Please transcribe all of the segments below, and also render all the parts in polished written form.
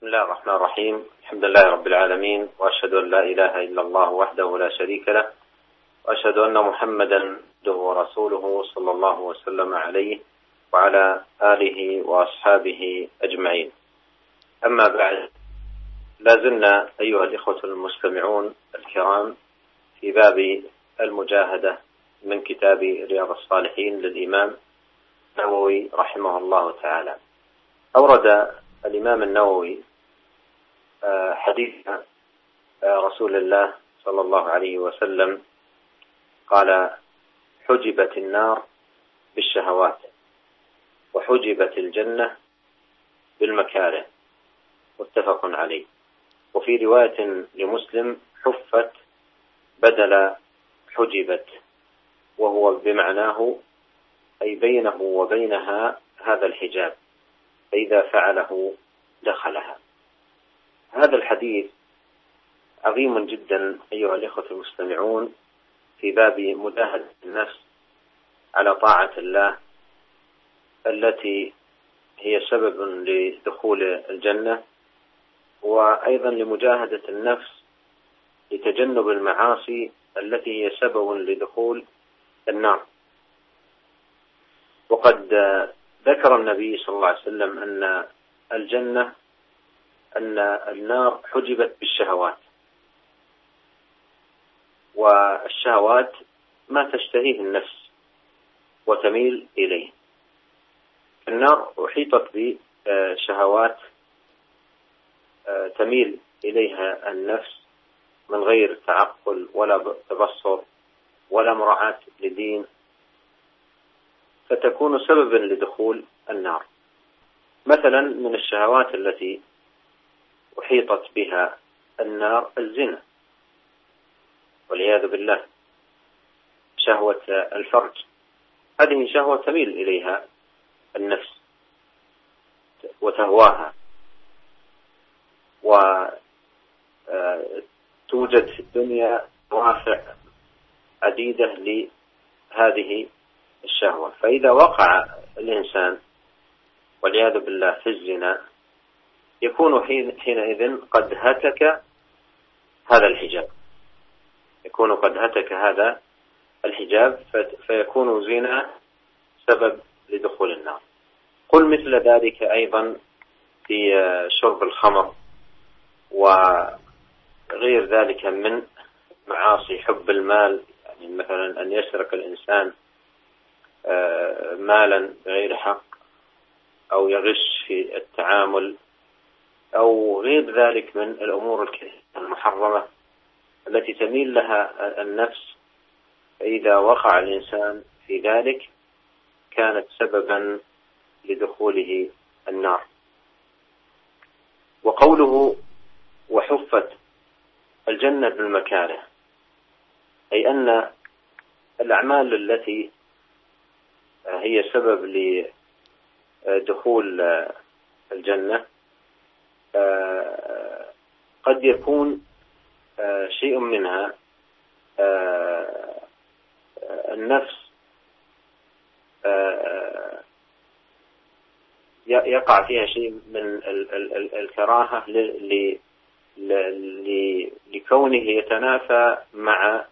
بسم الله الرحمن الرحيم. الحمد لله رب العالمين، وأشهد أن لا إله إلا الله وحده لا شريك له، وأشهد أن محمدا عبده ورسوله صلى الله وسلم عليه وعلى آله وأصحابه أجمعين. أما بعد، لا زلنا أيها الإخوة المستمعون الكرام في باب المجاهدة من كتاب رياض الصالحين للإمام النووي رحمه الله تعالى. أورد الإمام النووي حديث رسول الله صلى الله عليه وسلم قال: حجبت النار بالشهوات وحجبت الجنة بالمكاره، متفق عليه. وفي رواية لمسلم: حفت بدل حجبت، وهو بمعناه أي بينه وبينها هذا الحجاب، فإذا فعله دخلها. هذا الحديث عظيم جدا أيها الإخوة المستمعون في باب مجاهدة النفس على طاعة الله، التي هي سبب لدخول الجنة، وأيضا لمجاهدة النفس لتجنب المعاصي التي هي سبب لدخول النار. وقد ذكر النبي صلى الله عليه وسلم أن النار حجبت بالشهوات، والشهوات ما تشتهيه النفس وتميل إليه. النار أحيطت بشهوات تميل إليها النفس من غير تعقل ولا تبصر ولا مراعاة لدين، فتكون سببا لدخول النار. مثلا من الشهوات التي أحيطت بها النار الزنا والعياذ بالله، شهوة الفرج، هذه شهوة تميل إليها النفس وتهواها، وتوجد في الدنيا دوافع عديدة لهذه الشهوة. فإذا وقع الإنسان والعياذ بالله في الزنا، يكون حينئذ قد هتك هذا الحجاب، فيكون زنا سبب لدخول النار. قل مثل ذلك أيضا في شرب الخمر وغير ذلك من معاصي حب المال، يعني مثلا أن يسرق الإنسان مالا بغير حق، أو يغش في التعامل، أو غير ذلك من الأمور المحرمة التي تميل لها النفس. فإذا وقع الإنسان في ذلك كانت سببا لدخوله النار. وقوله وحفت الجنة بالمكاره، أي أن الأعمال التي هي سبب لدخول الجنة قد يكون شيء منها النفس يقع فيها شيء من الكراهة لكونه يتنافى مع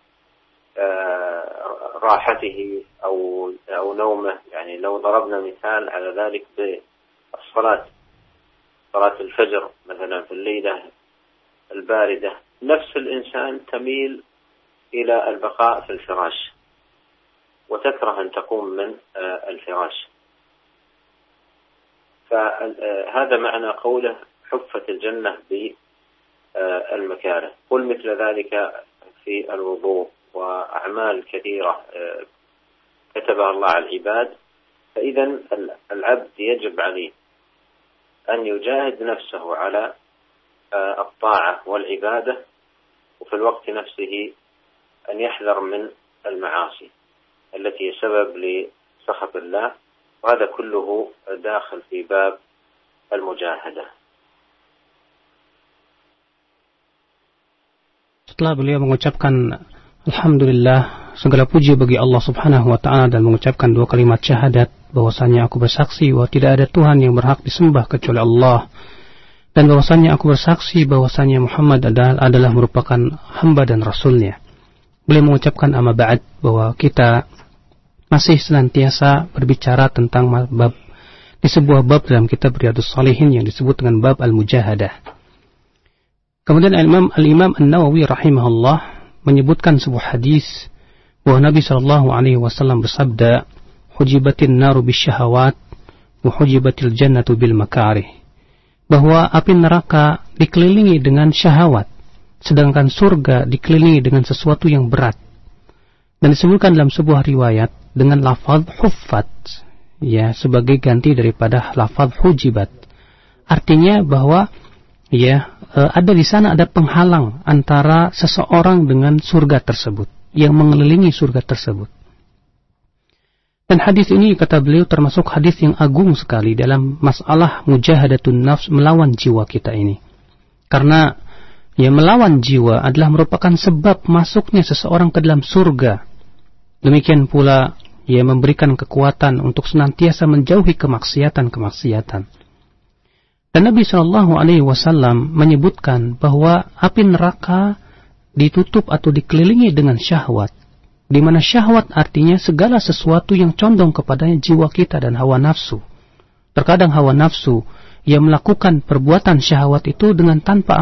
راحته أو نومه. يعني لو ضربنا مثال على ذلك بالصلاة، صلاة الفجر مثلا في الليلة الباردة، نفس الإنسان تميل إلى البقاء في الفراش وتكره أن تقوم من الفراش. فهذا معنى قوله حفت الجنة بالمكاره. قل مثل ذلك في الوضوء وأعمال كثيرة كتبها الله على العباد. فإذا العبد يجب عليه أن يجاهد نفسه على الطاعة والعبادة، وفي الوقت نفسه أن يحذر من المعاصي التي سبب لسخط الله، وهذا كله داخل في باب المجاهدة. Setelah beliau mengucapkan Alhamdulillah, segala puji bagi Allah subhanahu wa ta'ala, dan mengucapkan dua kalimat syahadat bahwasanya aku bersaksi bahwa tidak ada Tuhan yang berhak disembah kecuali Allah, Dan bahwasanya aku bersaksi bahwasanya Muhammad adalah merupakan hamba dan rasulnya. Beliau mengucapkan amma ba'd, bahwa kita masih senantiasa berbicara tentang bab di sebuah bab dalam kitab Riyadhus Shalihin yang disebut dengan bab al-mujahadah. Kemudian Al-Imam An-Nawawi rahimahullah menyebutkan sebuah hadis bahwa Nabi SAW bersabda, "Hujibatin naru bisyahawat wa hujibatil jannatu bil makarih." Bahwa api neraka dikelilingi dengan syahwat, sedangkan surga dikelilingi dengan sesuatu yang berat. Dan disebutkan dalam sebuah riwayat dengan lafaz huffat, ya, sebagai ganti daripada lafaz hujibat. Artinya bahwa ada di sana ada penghalang antara seseorang dengan surga tersebut, yang mengelilingi surga tersebut. Dan hadis ini, kata beliau, termasuk hadis yang agung sekali dalam masalah mujahadatun nafs, melawan jiwa kita ini. Karena melawan jiwa adalah merupakan sebab masuknya seseorang ke dalam surga. Demikian pula memberikan kekuatan untuk senantiasa menjauhi kemaksiatan-kemaksiatan. Dan Nabi SAW menyebutkan bahwa api neraka ditutup atau dikelilingi dengan syahwat, di mana syahwat artinya segala sesuatu yang condong kepadanya jiwa kita dan hawa nafsu. Terkadang hawa nafsu yang melakukan perbuatan syahwat itu dengan tanpa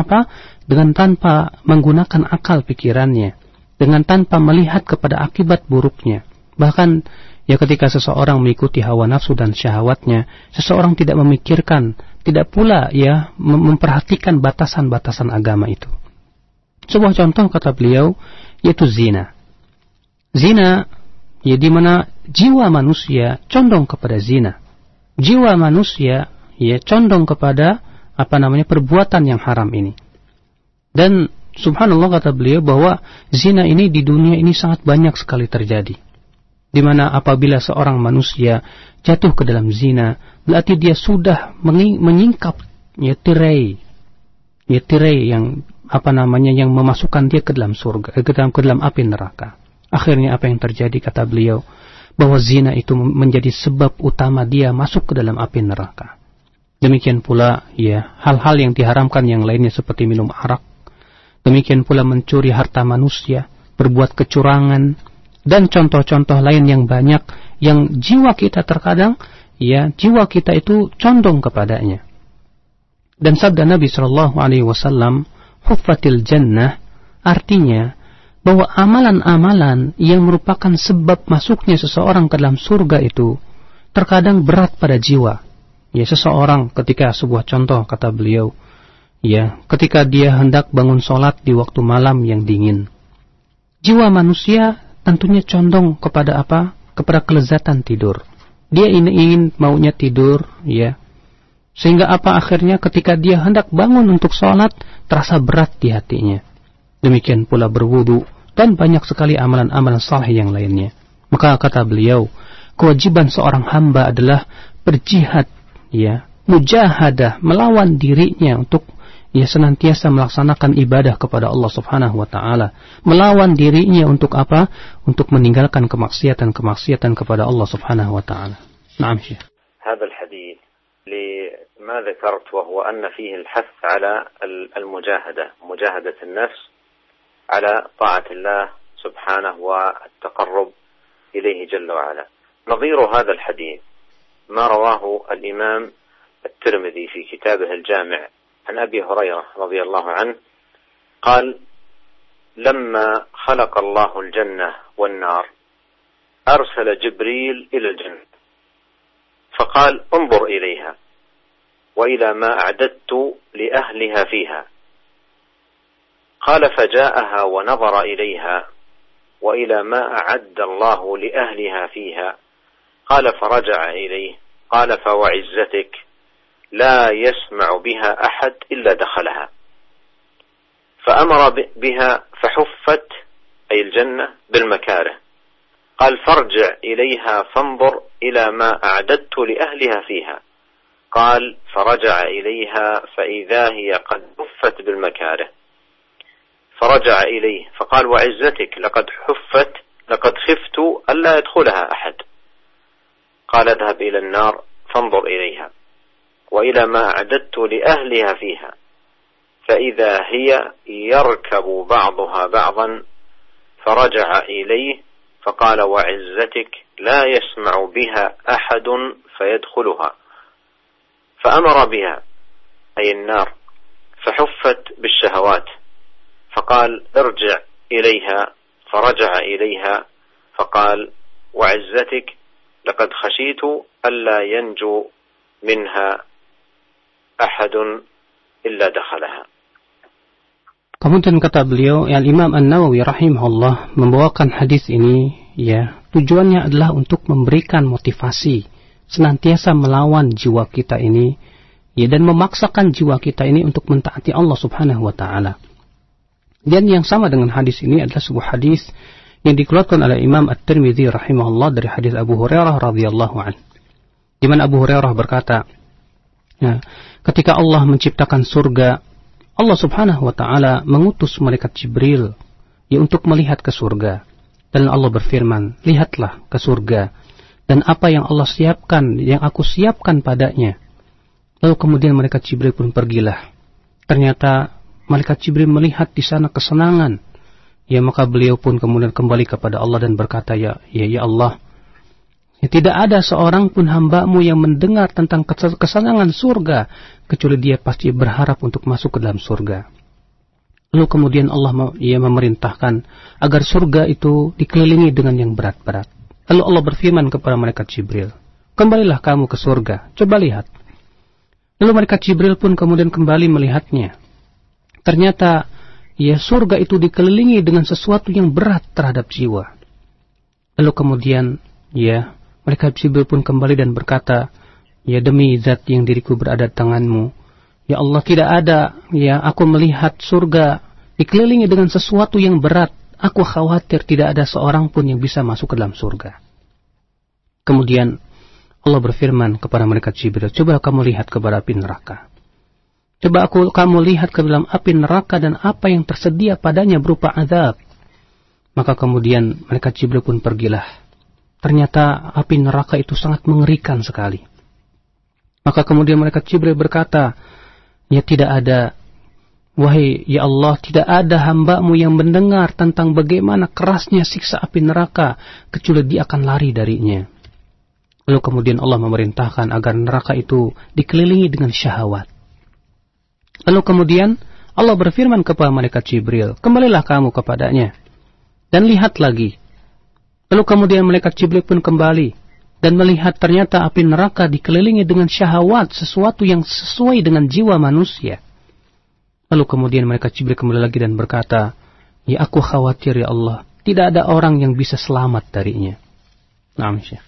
menggunakan akal pikirannya, dengan tanpa melihat kepada akibat buruknya. Bahkan ketika seseorang mengikuti hawa nafsu dan syahwatnya, seseorang tidak memikirkan, tidak pula memperhatikan batasan-batasan agama itu. Sebuah contoh, kata beliau, yaitu zina. Zina, di mana jiwa manusia condong kepada zina. Jiwa manusia condong kepada perbuatan yang haram ini. Dan subhanallah, kata beliau, bahwa zina ini di dunia ini sangat banyak sekali terjadi. Di mana apabila seorang manusia jatuh ke dalam zina, berarti dia sudah menyingkap tirai yang yang memasukkan dia ke dalam surga, ke dalam api neraka. Akhirnya apa yang terjadi, kata beliau, bahwa zina itu menjadi sebab utama dia masuk ke dalam api neraka. Demikian pula hal-hal yang diharamkan yang lainnya seperti minum arak. Demikian pula mencuri harta manusia, berbuat kecurangan, dan contoh-contoh lain yang banyak yang jiwa kita terkadang jiwa kita itu condong kepadanya. Dan sabda Nabi SAW, huffatil jannah, artinya bahwa amalan-amalan yang merupakan sebab masuknya seseorang ke dalam surga itu terkadang berat pada jiwa. Seseorang ketika, sebuah contoh, kata beliau, ketika dia hendak bangun sholat di waktu malam yang dingin, jiwa manusia tentunya condong kepada kepada kelezatan tidur. Dia ingin maunya tidur, sehingga akhirnya ketika dia hendak bangun untuk sholat terasa berat di hatinya. Demikian pula berwudu dan banyak sekali amalan-amalan saleh yang lainnya. Maka kata beliau, kewajiban seorang hamba adalah berjihad, mujahadah, melawan dirinya untuk senantiasa melaksanakan ibadah kepada Allah Subhanahu wa taala, melawan dirinya untuk apa? Untuk meninggalkan kemaksiatan kepada Allah Subhanahu wa taala. Naam, Syekh. هذا الحديث لما ذكرت وهو أن فيه الحث على مجاهدة النفس على طاعة الله سبحانه والتقرب إليه جل وعلا. نظير هذا الحديث ما رواه الإمام الترمذي في كتابه الجامع عن أبي هريرة رضي الله عنه قال: لما خلق الله الجنة والنار أرسل جبريل إلى الجنة فقال: انظر إليها وإلى ما أعددت لأهلها فيها. قال: فجاءها ونظر إليها وإلى ما أعد الله لأهلها فيها. قال: فرجع إليه. قال: فوعزتك لا يسمع بها أحد إلا دخلها. فأمر بها فحفت، أي الجنة، بالمكاره. قال: فارجع إليها فانظر إلى ما أعددت لأهلها فيها. قال: فرجع إليها فإذا هي قد حفت بالمكاره. فرجع إليه فقال: وعزتك لقد حفت، لقد خفت ألا يدخلها أحد. قال: اذهب إلى النار فانظر إليها. وإلى ما أعددت لأهلها فيها، فإذا هي يركب بعضها بعضا، فرجع إليه فقال وعزتك لا يسمع بها أحد فيدخلها، فأمر بها أي النار فحفت بالشهوات، فقال ارجع إليها، فرجع إليها فقال وعزتك لقد خشيت ألا ينجو منها أحد إلا دخلها. Kemudian kata beliau, Imam An-Nawawi rahimahullah membawakan hadis ini, ya, tujuannya adalah untuk memberikan motivasi, senantiasa melawan jiwa kita ini, ya, dan memaksakan jiwa kita ini untuk mentaati Allah Subhanahu wa taala. Dan yang sama dengan hadis ini adalah sebuah hadis yang dikeluarkan oleh Imam At-Tirmidzi rahimahullah dari hadis Abu Hurairah radhiyallahu anhu. Di mana Abu Hurairah berkata, ya, ketika Allah menciptakan surga, Allah Subhanahu wa taala mengutus malaikat Jibril, ya, untuk melihat ke surga. Dan Allah berfirman, lihatlah ke surga dan apa yang Allah siapkan, yang aku siapkan padanya. Lalu kemudian malaikat Jibril pun pergilah. Ternyata malaikat Jibril melihat di sana kesenangan. Ya, maka beliau pun kemudian kembali kepada Allah dan berkata, ya Allah, ya, tidak ada seorang pun hamba-Mu yang mendengar tentang kesenangan surga kecuali dia pasti berharap untuk masuk ke dalam surga. Lalu kemudian Allah memerintahkan agar surga itu dikelilingi dengan yang berat-berat. Lalu Allah berfirman kepada malaikat Jibril, kembalilah kamu ke surga, coba lihat. Lalu malaikat Jibril pun kemudian kembali melihatnya. Ternyata, ya, surga itu dikelilingi dengan sesuatu yang berat terhadap jiwa. Lalu kemudian, ya, malaikat Jibril pun kembali dan berkata, ya, demi zat yang diriku berada di tanganmu, ya Allah, tidak ada, ya, aku melihat surga dikelilingi dengan sesuatu yang berat. Aku khawatir tidak ada seorang pun yang bisa masuk ke dalam surga. Kemudian Allah berfirman kepada malaikat Jibril, coba kamu lihat kepada api neraka. Coba kamu lihat ke dalam api neraka dan apa yang tersedia padanya berupa azab. Maka kemudian malaikat Jibril pun pergilah. Ternyata api neraka itu sangat mengerikan sekali. Maka kemudian malaikat Jibril berkata, ya, tidak ada, wahai ya Allah, tidak ada hamba-Mu yang mendengar tentang bagaimana kerasnya siksa api neraka kecuali dia akan lari darinya. Lalu kemudian Allah memerintahkan agar neraka itu dikelilingi dengan syahwat. Lalu kemudian Allah berfirman kepada malaikat Jibril, kembalilah kamu kepadanya dan lihat lagi. Lalu kemudian malaikat Jibril pun kembali dan melihat ternyata api neraka dikelilingi dengan syahwat, sesuatu yang sesuai dengan jiwa manusia. Lalu kemudian malaikat Jibril kembali lagi dan berkata, ya, aku khawatir ya Allah, tidak ada orang yang bisa selamat darinya. Naam, Syekh.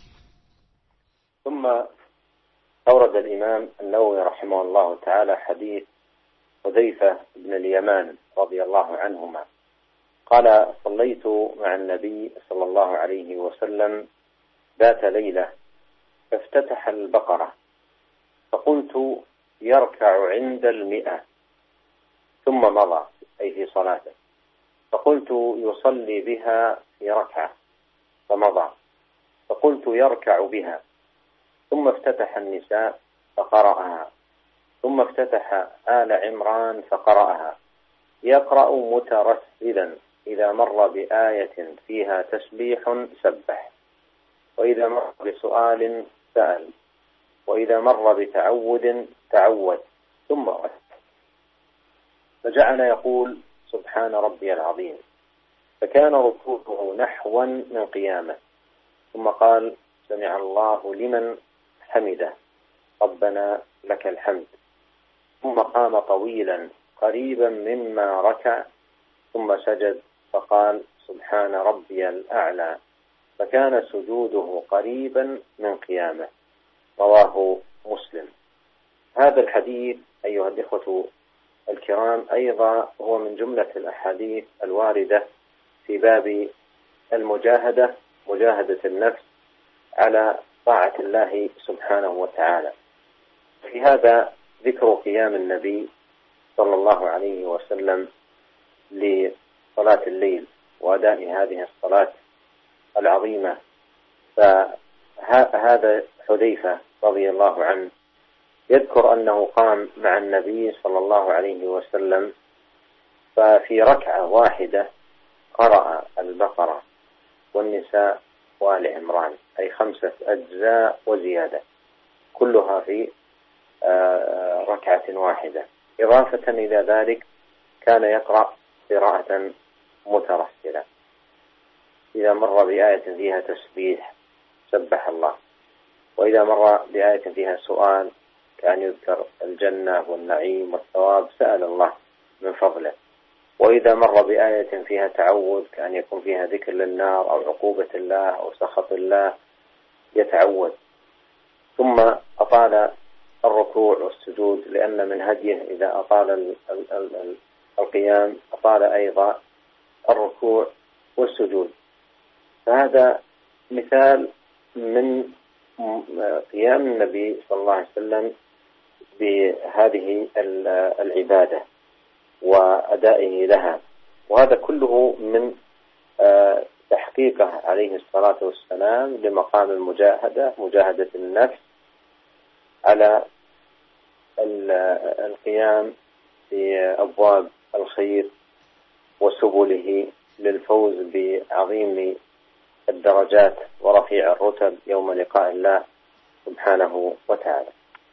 ثم أورد الإمام النووي رحمه الله تعالى حديث حذيفة بن اليمان رضي الله عنهما قال صليت مع النبي صلى الله عليه وسلم ذات ليلة فافتتح البقرة فقلت يركع عند 100 ثم مضى أي في صلاته فقلت يصلي بها في ركعة فمضى فقلت يركع بها ثم افتتح النساء فقرأها ثم افتتح آل عمران فقرأها يقرأ مترسلا إذا مر بآية فيها تسبيح سبح وإذا مر بسؤال سأل وإذا مر بتعود تعود ثم رد فجعل يقول سبحان ربي العظيم فكان ركوعه نحوا من قيامه ثم قال سمع الله لمن حمده ربنا لك الحمد ثم قام طويلا قريبا مما ركع ثم سجد فقال سبحان ربي الأعلى فكان سجوده قريبا من قيامه رواه مسلم. هذا الحديث أيها الإخوة الكرام أيضا هو من جملة الأحاديث الواردة في باب المجاهدة، مجاهدة النفس على طاعة الله سبحانه وتعالى. في هذا ذكر قيام النبي صلى الله عليه وسلم لصلاة الليل وأداء هذه الصلاة العظيمة. فهذا حذيفة رضي الله عنه يذكر أنه قام مع النبي صلى الله عليه وسلم، ففي ركعة واحدة قرأ البقرة والنساء وآل عمران، أي 5 أجزاء وزيادة، كلها في ركعة واحدة. إضافة إلى ذلك كان يقرأ قراءة مترسلة، إذا مر بآية فيها تسبيح سبح الله، وإذا مر بآية فيها سؤال كان يذكر الجنة والنعيم والثواب سأل الله من فضله، وإذا مر بآية فيها تعوذ كأن يكون فيها ذكر للنار أو عقوبة الله أو سخط الله يتعوذ. ثم أطال الركوع والسجود، لأن من هديه إذا أطال القيام أطال أيضا الركوع والسجود. فهذا مثال من قيام النبي صلى الله عليه وسلم بهذه العبادة وأدائه لها، وهذا كله من تحقيقه عليه الصلاة والسلام لمقام المجاهدة، مجاهدة النفس على القيام في أبواب الخير وسبله للفوز بعظيم الدرجات ورفيع الرتب يوم لقاء الله سبحانه وتعالى.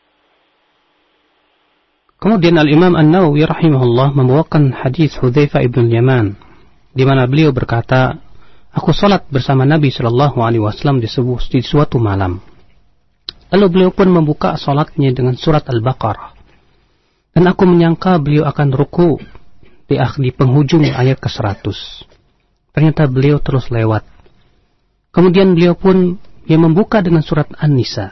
Kemudian Al-Imam An-Nawawi rahimahullah membawakan hadis Hudzaifah ibn Yaman, di mana beliau berkata, aku salat bersama Nabi sallallahu alaihi wasallam di suatu malam. Lalu beliau pun membuka salatnya dengan surat Al-Baqarah. Dan aku menyangka beliau akan ruku di penghujung ayat ke-100. Ternyata beliau terus lewat. Kemudian beliau pun membuka dengan surat An-Nisa.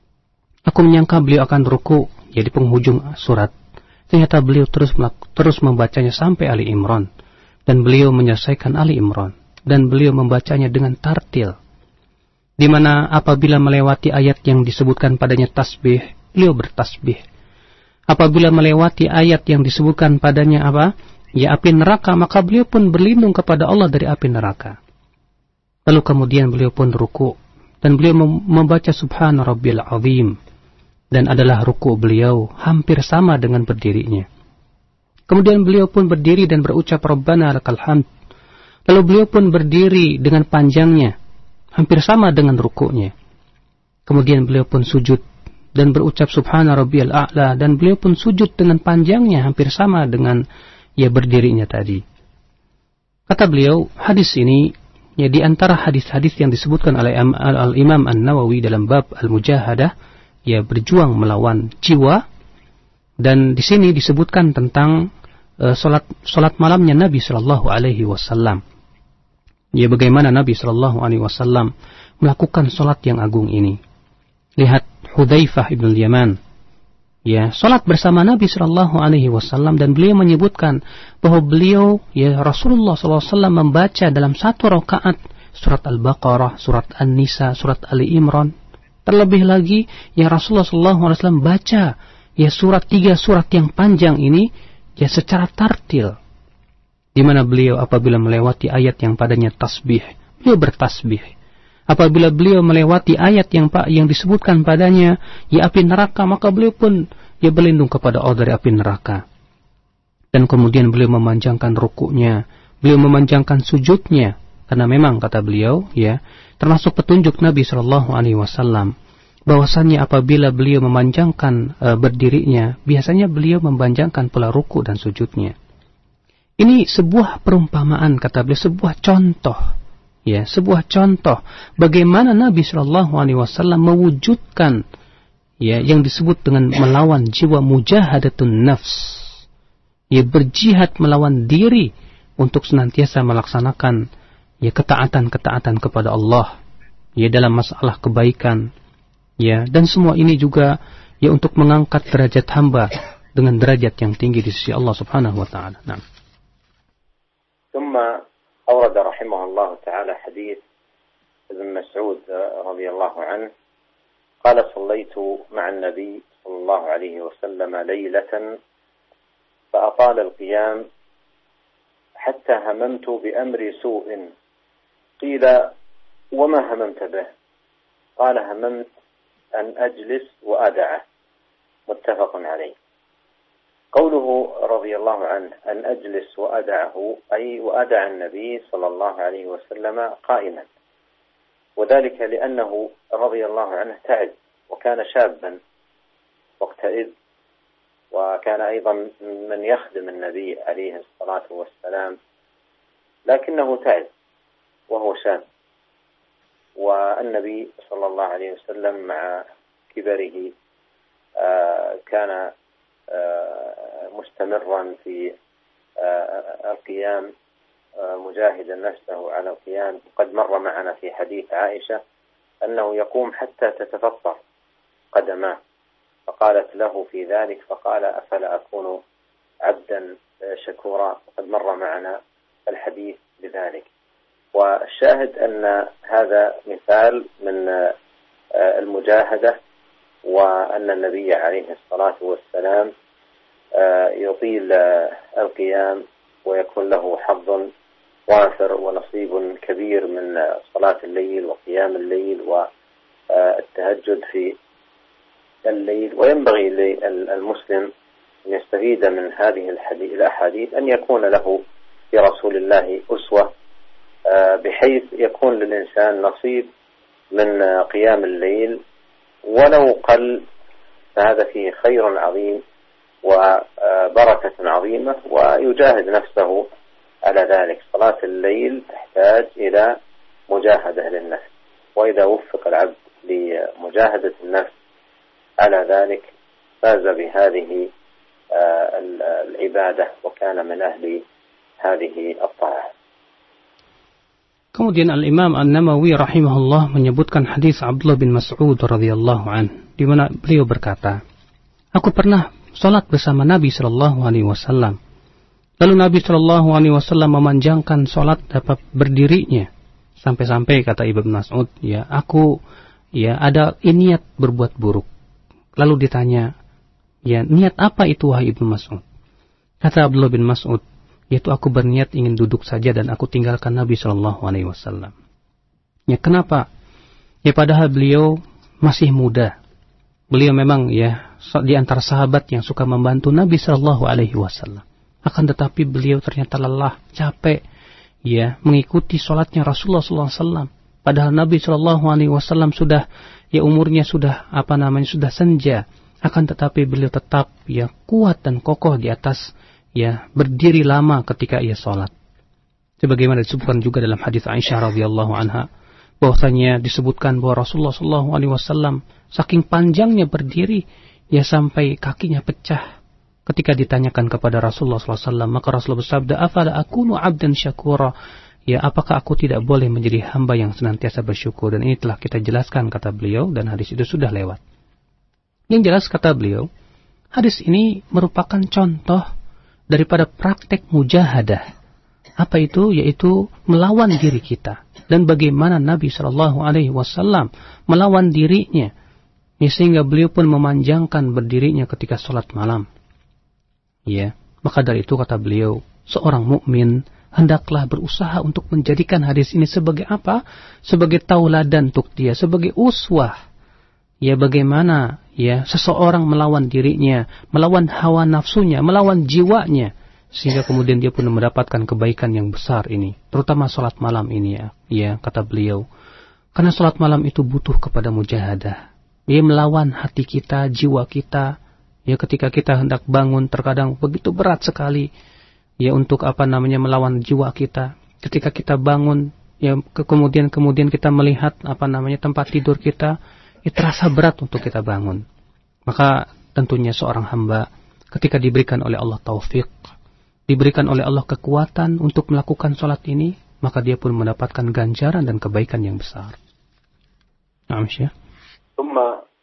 Aku menyangka beliau akan ruku di penghujung surat. Ternyata beliau terus membacanya sampai Ali Imran. Dan beliau menyelesaikan Ali Imran. Dan beliau membacanya dengan tartil. Di mana apabila melewati ayat yang disebutkan padanya tasbih, beliau bertasbih. Apabila melewati ayat yang disebutkan padanya api neraka, maka beliau pun berlindung kepada Allah dari api neraka. Lalu kemudian beliau pun ruku. Dan beliau membaca Subhana Rabbil Azim. Dan adalah ruku beliau hampir sama dengan berdirinya. Kemudian beliau pun berdiri dan berucap Rabbana lakal hamd. Lalu beliau pun berdiri dengan panjangnya, hampir sama dengan rukunya. Kemudian beliau pun sujud dan berucap Subhana Rabbiyal A'la, dan beliau pun sujud dengan panjangnya hampir sama dengan berdirinya tadi. Kata beliau, hadis ini di antara hadis-hadis yang disebutkan oleh Al-Imam An-Nawawi dalam bab Al-Mujahadah, berjuang melawan jiwa. Dan di sini disebutkan tentang salat malamnya Nabi sallallahu alaihi wasallam. Bagaimana Nabi sallallahu alaihi wasallam melakukan salat yang agung ini. Lihat Hudzaifah ibn Yaman, salat bersama Nabi sallallahu alaihi wasallam, dan beliau menyebutkan bahwa beliau Rasulullah sallallahu alaihi wasallam membaca dalam satu rakaat surat Al-Baqarah, surat An-Nisa, surat Ali Imran. Terlebih lagi Rasulullah sallallahu alaihi wasallam baca tiga surat yang panjang ini secara tartil. Di mana beliau apabila melewati ayat yang padanya tasbih, beliau bertasbih. Apabila beliau melewati ayat yang disebutkan padanya api neraka, maka beliau pun berlindung kepada Allah dari api neraka. Dan kemudian beliau memanjangkan rukuknya, beliau memanjangkan sujudnya, karena memang kata beliau termasuk petunjuk Nabi sallallahu alaihi wasallam bahwasannya apabila beliau memanjangkan berdirinya, biasanya beliau memanjangkan pula ruku dan sujudnya. Ini sebuah perumpamaan, kata beliau, sebuah contoh, sebuah contoh bagaimana Nabi sallallahu alaihi wasallam mewujudkan yang disebut dengan melawan jiwa, mujahadatun nafs, berjihad melawan diri untuk senantiasa melaksanakan ketaatan-ketaatan kepada Allah dalam masalah kebaikan, dan semua ini juga untuk mengangkat derajat hamba dengan derajat yang tinggi di sisi Allah Subhanahu wa taala. Nah. ثم أورد رحمه الله تعالى حديث ابن مسعود رضي الله عنه قال صليت مع النبي صلى الله عليه وسلم ليلة فأطال القيام حتى هممت بأمر سوء قيل وما هممت به قال هممت أن أجلس وأدعه متفق عليه. قوله رضي الله عنه أن أجلس وأدعه أي وأدع النبي صلى الله عليه وسلم قائما، وذلك لأنه رضي الله عنه تعب وكان شابا وقتئذ، وكان أيضا من يخدم النبي عليه الصلاة والسلام، لكنه تعب وهو شاب، والنبي صلى الله عليه وسلم مع كبره كان مستمرا في القيام مجاهدا نفسه على القيام. قد مر معنا في حديث عائشة أنه يقوم حتى تتفطر قدماه، فقالت له في ذلك فقال أفلا أكون عبدا شكورا. قد مر معنا الحديث بذلك. والشاهد أن هذا مثال من المجاهدة، وأن النبي عليه الصلاة والسلام يطيل القيام ويكون له حظ وافر ونصيب كبير من صلاة الليل وقيام الليل والتهجد في الليل. وينبغي للمسلم أن يستفيد من هذه الأحاديث أن يكون له برسول الله أسوة، بحيث يكون للإنسان نصيب من قيام الليل ولو قل، فهذا فيه خير عظيم وبركة عظيمة، ويجاهد نفسه على ذلك. صلاة الليل تحتاج إلى مجاهدة للنفس، وإذا وفق العبد لمجاهدة النفس على ذلك فاز بهذه العبادة وكان من أهل هذه الطاعة. Kemudian Al-Imam An-Nawawi rahimahullah menyebutkan hadis Abdullah bin Mas'ud radhiyallahu an, di mana beliau berkata, "Aku pernah salat bersama Nabi sallallahu alaihi wasallam. Lalu Nabi sallallahu alaihi wasallam memanjangkan salat dapat berdirinya sampai-sampai kata Ibnu Mas'ud, aku ada niat berbuat buruk." Lalu ditanya, niat apa itu wahai Ibnu Mas'ud? Kata Abdullah bin Mas'ud, yaitu aku berniat ingin duduk saja dan aku tinggalkan Nabi sallallahu alaihi wasallam. Kenapa? Padahal beliau masih muda. Beliau memang di antara sahabat yang suka membantu Nabi sallallahu alaihi wasallam. Akan tetapi beliau ternyata lelah, capek mengikuti salatnya Rasulullah sallallahu alaihi wasallam. Padahal Nabi sallallahu alaihi wasallam sudah umurnya sudah sudah senja. Akan tetapi beliau tetap kuat dan kokoh di atas berdiri lama ketika ia salat. Sebagaimana disebutkan juga dalam hadis Aisyah radhiyallahu anha, bahwasanya disebutkan bahwa Rasulullah sallallahu alaihi wasallam saking panjangnya berdiri sampai kakinya pecah. Ketika ditanyakan kepada Rasulullah sallallahu alaihi wasallam, maka Rasulullah bersabda, "Afala akunu 'abdan syakura?" Apakah aku tidak boleh menjadi hamba yang senantiasa bersyukur? Dan ini telah kita jelaskan kata beliau, dan hadis itu sudah lewat. Yang jelas kata beliau, hadis ini merupakan contoh daripada praktek mujahadah. Apa itu? Yaitu melawan diri kita. Dan bagaimana Nabi sallallahu alaihi wasallam melawan dirinya, sehingga beliau pun memanjangkan berdirinya ketika salat malam. Maka dari itu kata beliau, seorang mukmin hendaklah berusaha untuk menjadikan hadis ini sebagai apa? Sebagai tauladan untuk dia, sebagai uswah. Bagaimana seseorang melawan dirinya, melawan hawa nafsunya, melawan jiwanya, sehingga kemudian dia pun mendapatkan kebaikan yang besar ini, terutama salat malam ini kata beliau. Karena salat malam itu butuh kepada mujahadah. Melawan hati kita, jiwa kita. Ketika kita hendak bangun terkadang begitu berat sekali untuk melawan jiwa kita. Ketika kita bangun kemudian kita melihat tempat tidur kita, terasa berat untuk kita bangun. Maka tentunya seorang hamba ketika diberikan oleh Allah taufik, diberikan oleh Allah kekuatan untuk melakukan salat ini, maka dia pun mendapatkan ganjaran dan kebaikan yang besar. Naam Syekh. ثم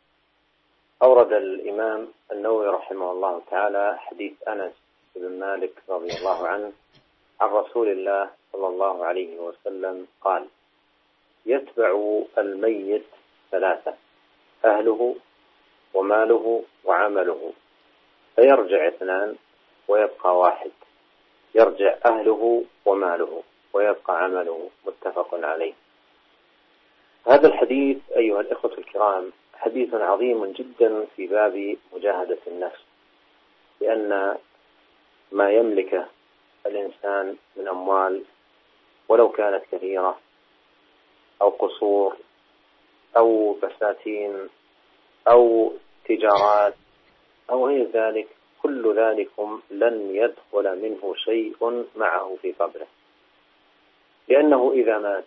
أورد الإمام النووي رحمه الله تعالى حديث أنس بن مالك رضي الله عنه عن رسول الله صلى الله عليه وسلم قال: يتبع الميت ثلاثة: أهله وماله وعمله، فيرجع اثنان ويبقى واحد، يرجع أهله وماله ويبقى عمله. متفق عليه. هذا الحديث أيها الإخوة الكرام حديث عظيم جدا في باب مجاهدة النفس، لأن ما يملكه الإنسان من أموال ولو كانت كثيرة أو قصور أو بساتين أو تجارات أو غير ذلك، كل ذلكم لن يدخل منه شيء معه في قبره، لأنه إذا مات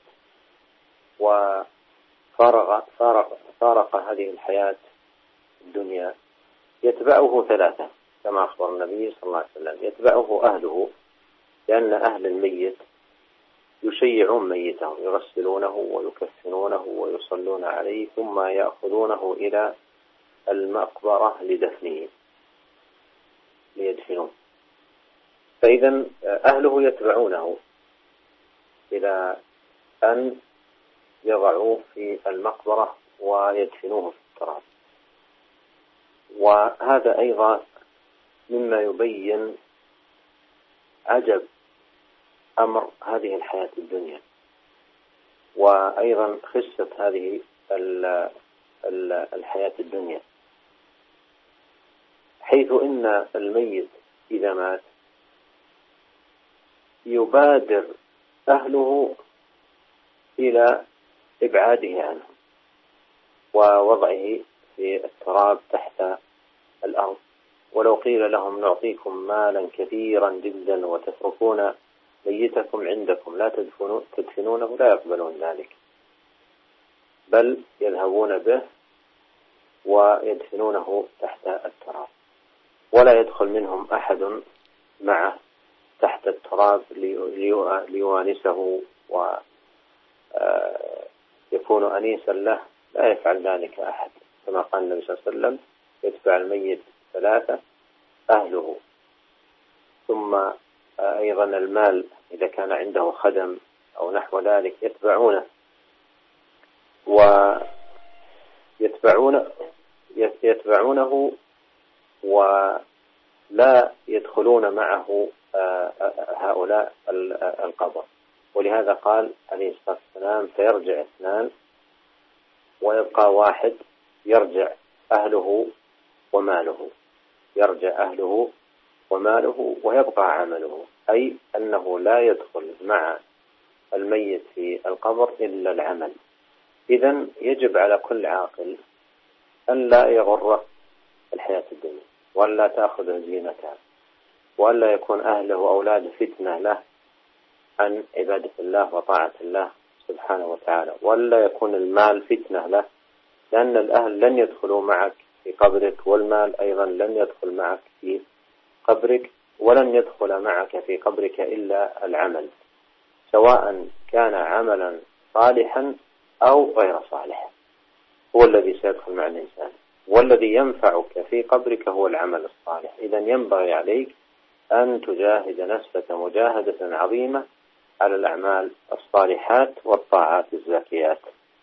وفارق هذه الحياة الدنيا يتبعه ثلاثة كما أخبر النبي صلى الله عليه وسلم. يتبعه أهله، لأن أهل الميت يشيعون ميته، يغسلونه ويكفنونه ويصلون عليه، ثم يأخذونه إلى المقبرة لدفنه ليدفنوه. فإذا أهله يتبعونه إلى أن يضعوه في المقبرة ويدفنوه في التراب. وهذا أيضا مما يبين عجب أمر هذه الحياة الدنيا، وأيضا خسة هذه الحياة الدنيا، حيث إن الميت إذا مات يبادر أهله إلى إبعاده عنه ووضعه في التراب تحت الأرض، ولو قيل لهم نعطيكم مالا كثيرا جدا وتتركون ميتكم عندكم لا تدفنونه لا يقبلون ذلك، بل يذهبون به ويدفنونه تحت التراب، ولا يدخل منهم أحد معه تحت التراب ليوانسه ويكون أنيسا له. لا يفعل ذلك أحد، كما قال النبي صلى الله عليه وسلم: يتبع الميت ثلاثة: أهله، ثم أيضا المال إذا كان عنده خدم أو نحو ذلك يتبعونه ولا يدخلون معه هؤلاء القبر. ولهذا قال عليه الصلاة والسلام: فيرجع اثنان ويبقى واحد، يرجع أهله وماله، يرجع أهله وماله ويبقى عمله، أي أنه لا يدخل مع الميت في القبر إلا العمل. إذن يجب على كل عاقل أن لا يغر الحياة الدنيا، وأن لا تأخذ زينتها، وأن لا يكون أهله وأولاده فتنة له عن عبادة الله وطاعة الله سبحانه وتعالى، وأن لا يكون المال فتنة له، لأن الأهل لن يدخلوا معك في قبرك، والمال أيضا لن يدخل معك في قبرك، ولن يدخل معك في قبرك إلا العمل، سواء كان عملا صالحا أو غير صالح، هو الذي سيدخل مع الإنسان، والذي ينفعك في قبرك هو العمل الصالح. إذن ينبغي عليك أن تجاهد نفسك مجاهدة عظيمة على الأعمال الصالحات والطاعات الزاكيات.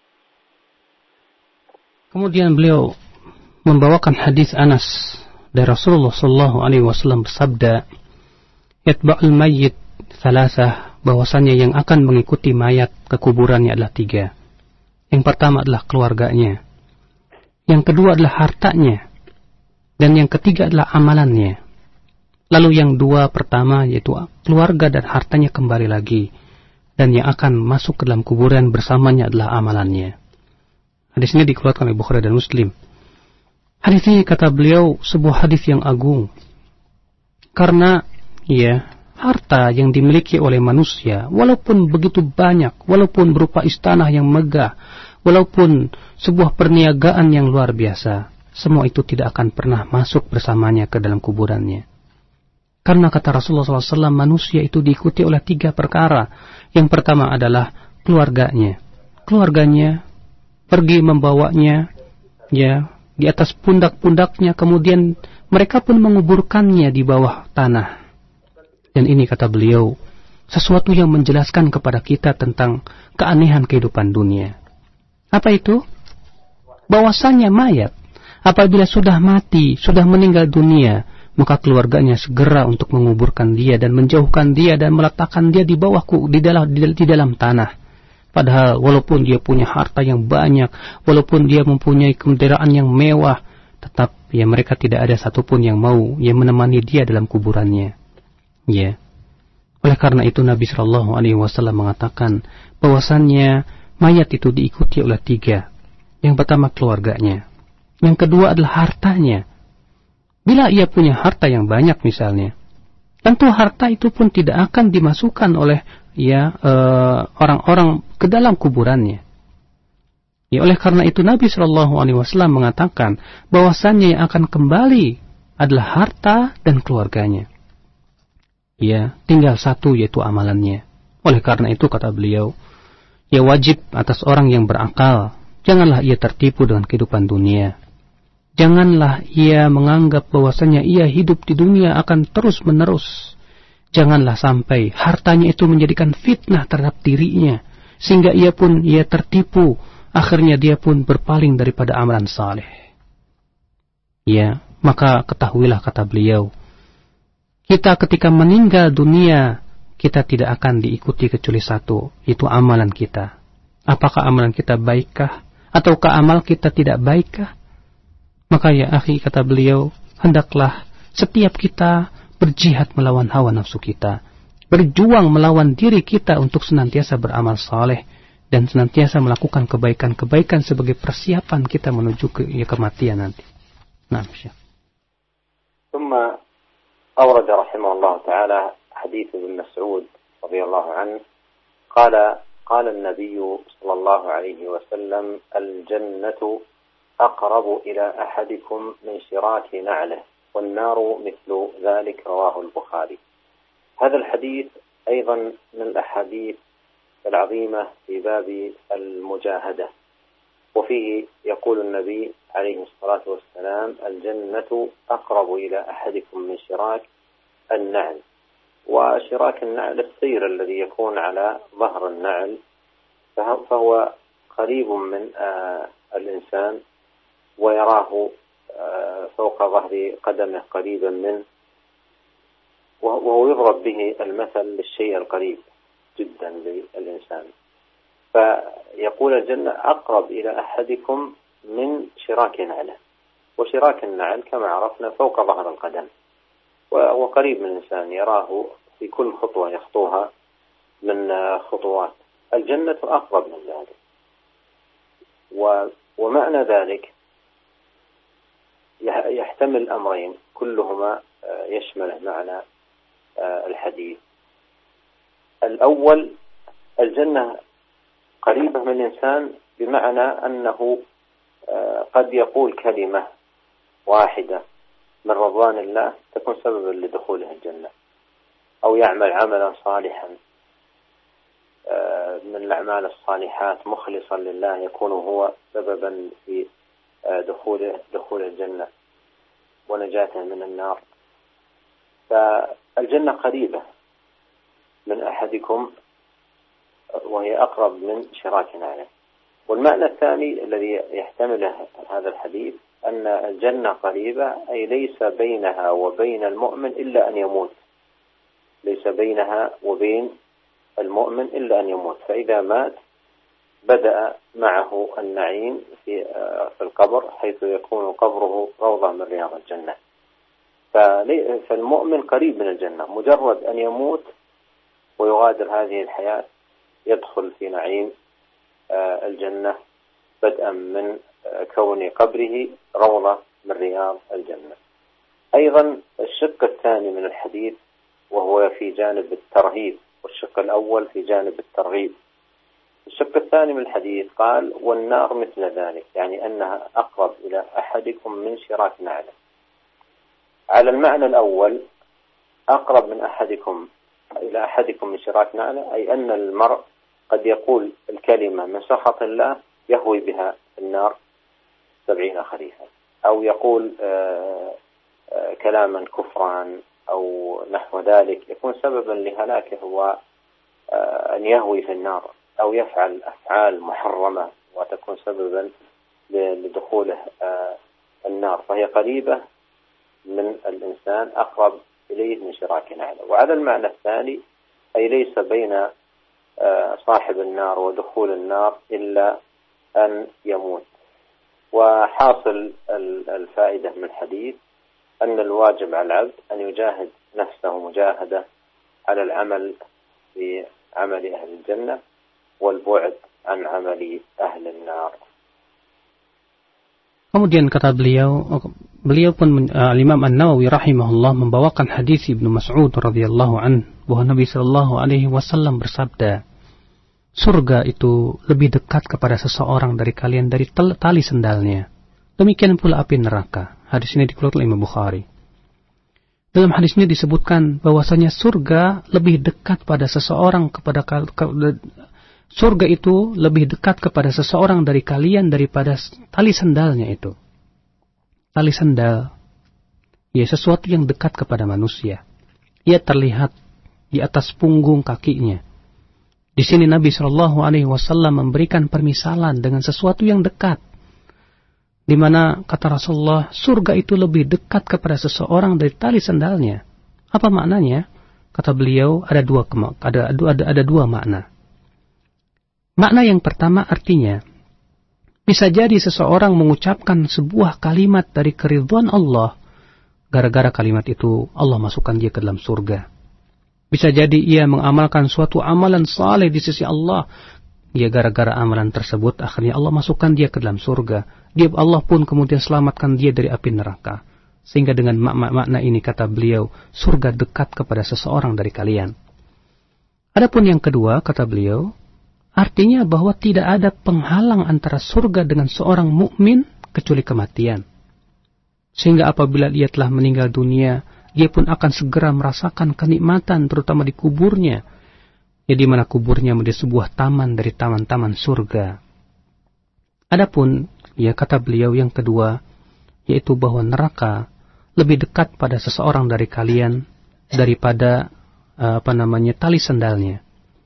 Kemudian beliau membawakan hadis Anas dari Rasulullah sallallahu alaihi wasallam bersabda, "Yatba'ul mayyit thalathah," bahwasanya yang akan mengikuti mayat ke kuburannya adalah 3. Yang pertama adalah keluarganya, yang kedua adalah hartanya, dan yang ketiga adalah amalannya. Lalu yang 2 pertama yaitu keluarga dan hartanya kembali lagi, dan yang akan masuk ke dalam kuburan bersamanya adalah amalannya. Hadis ini dikeluarkan oleh Bukhari dan Muslim. Hadis ini kata beliau sebuah hadis yang agung, karena harta yang dimiliki oleh manusia, walaupun begitu banyak, walaupun berupa istana yang megah, walaupun sebuah perniagaan yang luar biasa, semua itu tidak akan pernah masuk bersamanya ke dalam kuburannya. Karena kata Rasulullah SAW, manusia itu diikuti oleh 3 perkara. Yang pertama adalah keluarganya. Keluarganya pergi membawanya di atas pundak-pundaknya, kemudian mereka pun menguburkannya di bawah tanah. Dan ini kata beliau sesuatu yang menjelaskan kepada kita tentang keanehan kehidupan dunia. Apa itu? Bahwasanya mayat apabila sudah mati, sudah meninggal dunia, maka keluarganya segera untuk menguburkan dia dan menjauhkan dia dan meletakkan dia di bawah di dalam tanah. Padahal walaupun dia punya harta yang banyak, walaupun dia mempunyai kendaraan yang mewah, tetap ya mereka tidak ada satupun yang mau menemani dia dalam kuburannya. Ya. Oleh karena itu Nabi Shallallahu Alaihi Wasallam mengatakan bahwasannya mayat itu diikuti oleh 3. Yang pertama keluarganya, yang kedua adalah hartanya. Bila ia punya harta yang banyak misalnya, tentu harta itu pun tidak akan dimasukkan oleh orang-orang ke dalam kuburannya. Ya, oleh karena itu Nabi Shallallahu Alaihi Wasallam mengatakan bahwasannya yang akan kembali adalah harta dan keluarganya. Ya, tinggal satu yaitu amalannya. Oleh karena itu kata beliau, ya wajib atas orang yang berakal, janganlah ia tertipu dengan kehidupan dunia. Janganlah ia menganggap bahwasanya ia hidup di dunia akan terus menerus. Janganlah sampai hartanya itu menjadikan fitnah terhadap dirinya, sehingga ia tertipu, akhirnya dia pun berpaling daripada amalan saleh. Ya, maka ketahuilah kata beliau, kita ketika meninggal dunia, kita tidak akan diikuti kecuali satu, itu amalan kita. Apakah amalan kita baikkah, ataukah amal kita tidak baikkah? Maka ya akhi, kata beliau, hendaklah setiap kita berjihad melawan hawa nafsu kita, berjuang melawan diri kita untuk senantiasa beramal saleh dan senantiasa melakukan kebaikan-kebaikan sebagai persiapan kita menuju ke kematian nanti. Nah, Syekh. ثم أورد رحمه الله تعالى حديث ابن مسعود رضي الله عنه قال النبي صلى الله عليه وسلم الجنة أقرب إلى أحدكم من شراك نعله والنار مثل ذلك رواه البخاري. هذا الحديث أيضا من الأحاديث العظيمة في باب المجاهدة، وفيه يقول النبي عليه الصلاة والسلام الجنة أقرب إلى أحدكم من شراك النعل. وشراك النعل السير الذي يكون على ظهر النعل، فهو قريب من الإنسان ويراه فوق ظهر قدمه قريبا منه، وهو يضرب به المثل للشيء القريب جدا للإنسان. فيقول الجنة أقرب إلى أحدكم من شراك نعله، وشراك النعل كما عرفنا فوق ظهر القدم، وهو قريب من الإنسان يراه في كل خطوة يخطوها من خطوات. الجنة أقرب من ذلك، ومعنى ذلك يحتمل أمرين كلهما يشمل معنى الحديث. الأول الجنة قريبة من الإنسان بمعنى أنه قد يقول كلمة واحدة من رضوان الله تكون سببا لدخوله الجنة، أو يعمل عملا صالحا من الأعمال الصالحات مخلصا لله يكون هو سببا في دخول الجنة ونجاته من النار. فالجنة قريبة من أحدكم وهي أقرب من شراك نعله. والمعنى الثاني الذي يحتمله هذا الحديث أن الجنة قريبة، أي ليس بينها وبين المؤمن إلا أن يموت، ليس بينها وبين المؤمن إلا أن يموت، فإذا مات بدأ معه النعيم في القبر، حيث يكون قبره روضة من رياض الجنة. فالمؤمن قريب من الجنة، مجرد أن يموت ويغادر هذه الحياة يدخل في نعيم الجنة، بدءا من كون قبره روضة من رياض الجنة. أيضا الشق الثاني من الحديث وهو في جانب الترهيب، والشق الأول في جانب الترغيب. الشق الثاني من الحديث قال والنار مثل ذلك، يعني أنها أقرب إلى أحدكم من شراك نعله. على المعنى الأول أقرب من أحدكم إلى أحدكم من شراك نعله، أي أن المرء قد يقول الكلمة من سخط الله يهوي بها النار 70 خريفا، أو يقول كلاما كفرا أو نحو ذلك يكون سببا لهلاكه وأن يهوي في النار، أو يفعل أفعال محرمة وتكون سببا لدخوله النار، فهي قريبة من الإنسان أقرب إليه من شراك نعله. وعلى المعنى الثاني أي ليس بين صاحب النار ودخول النار إلا أن يموت. وحاصل الفائدة من الحديث أن الواجب على العبد أن يجاهد نفسه مجاهدة على العمل بعمل أهل الجنة والبعد عن عمل أهل النار. Kemudian kata beliau pun Imam An-Nawawi rahimahullah membawakan hadis Ibnu Mas'ud radhiyallahu an bahwa Nabi sallallahu alaihi wasallam bersabda, surga itu lebih dekat kepada seseorang dari kalian dari tali sendalnya. Demikian pula api neraka. Hadis ini dikeluarkan oleh Imam Bukhari. Dalam hadis ini disebutkan bahwasanya surga lebih dekat pada seseorang surga itu lebih dekat kepada seseorang dari kalian daripada tali sendalnya itu. Tali sendal, ya sesuatu yang dekat kepada manusia. Ia terlihat di atas punggung kakinya. Di sini Nabi Shallallahu Alaihi Wasallam memberikan permisalan dengan sesuatu yang dekat, di mana kata Rasulullah, surga itu lebih dekat kepada seseorang dari tali sendalnya. Apa maknanya? Kata beliau ada dua makna. Makna yang pertama artinya, bisa jadi seseorang mengucapkan sebuah kalimat dari keridhaan Allah, gara-gara kalimat itu Allah masukkan dia ke dalam surga. Bisa jadi ia mengamalkan suatu amalan saleh di sisi Allah, dia gara-gara amalan tersebut akhirnya Allah masukkan dia ke dalam surga. Allah pun kemudian selamatkan dia dari api neraka. Sehingga dengan makna ini kata beliau, surga dekat kepada seseorang dari kalian. Adapun yang kedua kata beliau, artinya bahwa tidak ada penghalang antara surga dengan seorang mukmin kecuali kematian. Sehingga apabila dia telah meninggal dunia, dia pun akan segera merasakan kenikmatan terutama di kuburnya. Ya, di mana kuburnya menjadi sebuah taman dari taman-taman surga. Adapun ya kata beliau yang kedua, yaitu bahwa neraka lebih dekat pada seseorang dari kalian daripada tali sendalnya.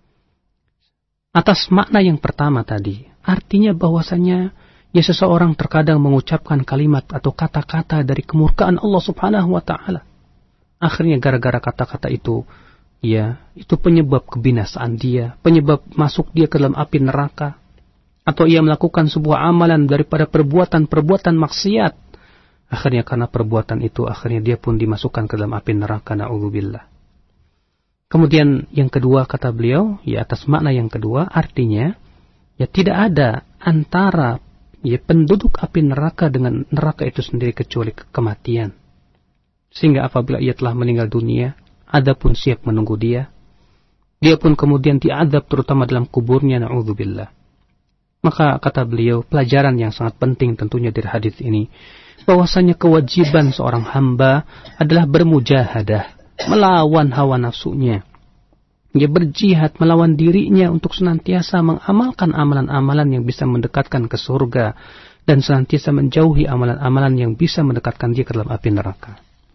Atas makna yang pertama tadi, artinya bahwasanya ya seseorang terkadang mengucapkan kalimat atau kata-kata dari kemurkaan Allah Subhanahu wa taala. Akhirnya gara-gara kata-kata itu, ya, itu penyebab kebinasaan dia, penyebab masuk dia ke dalam api neraka. Atau ia melakukan sebuah amalan daripada perbuatan maksiat. Akhirnya karena perbuatan itu, akhirnya dia pun dimasukkan ke dalam api neraka, na'udzubillah. Kemudian yang kedua kata beliau, ya atas makna yang kedua, artinya ya tidak ada antara ya penduduk api neraka dengan neraka itu sendiri kecuali kematian. Sehingga apabila ia telah meninggal dunia, adab pun siap menunggu dia. Dia pun kemudian diadab terutama dalam kuburnya, na'udzubillah. Maka kata beliau, pelajaran yang sangat penting tentunya dari hadis ini, bahwasanya kewajiban seorang hamba adalah bermujahadah, melawan hawa nafsunya. Dia berjihad melawan dirinya untuk senantiasa mengamalkan amalan-amalan yang bisa mendekatkan ke surga dan senantiasa menjauhi amalan-amalan yang bisa mendekatkan dia ke dalam api neraka.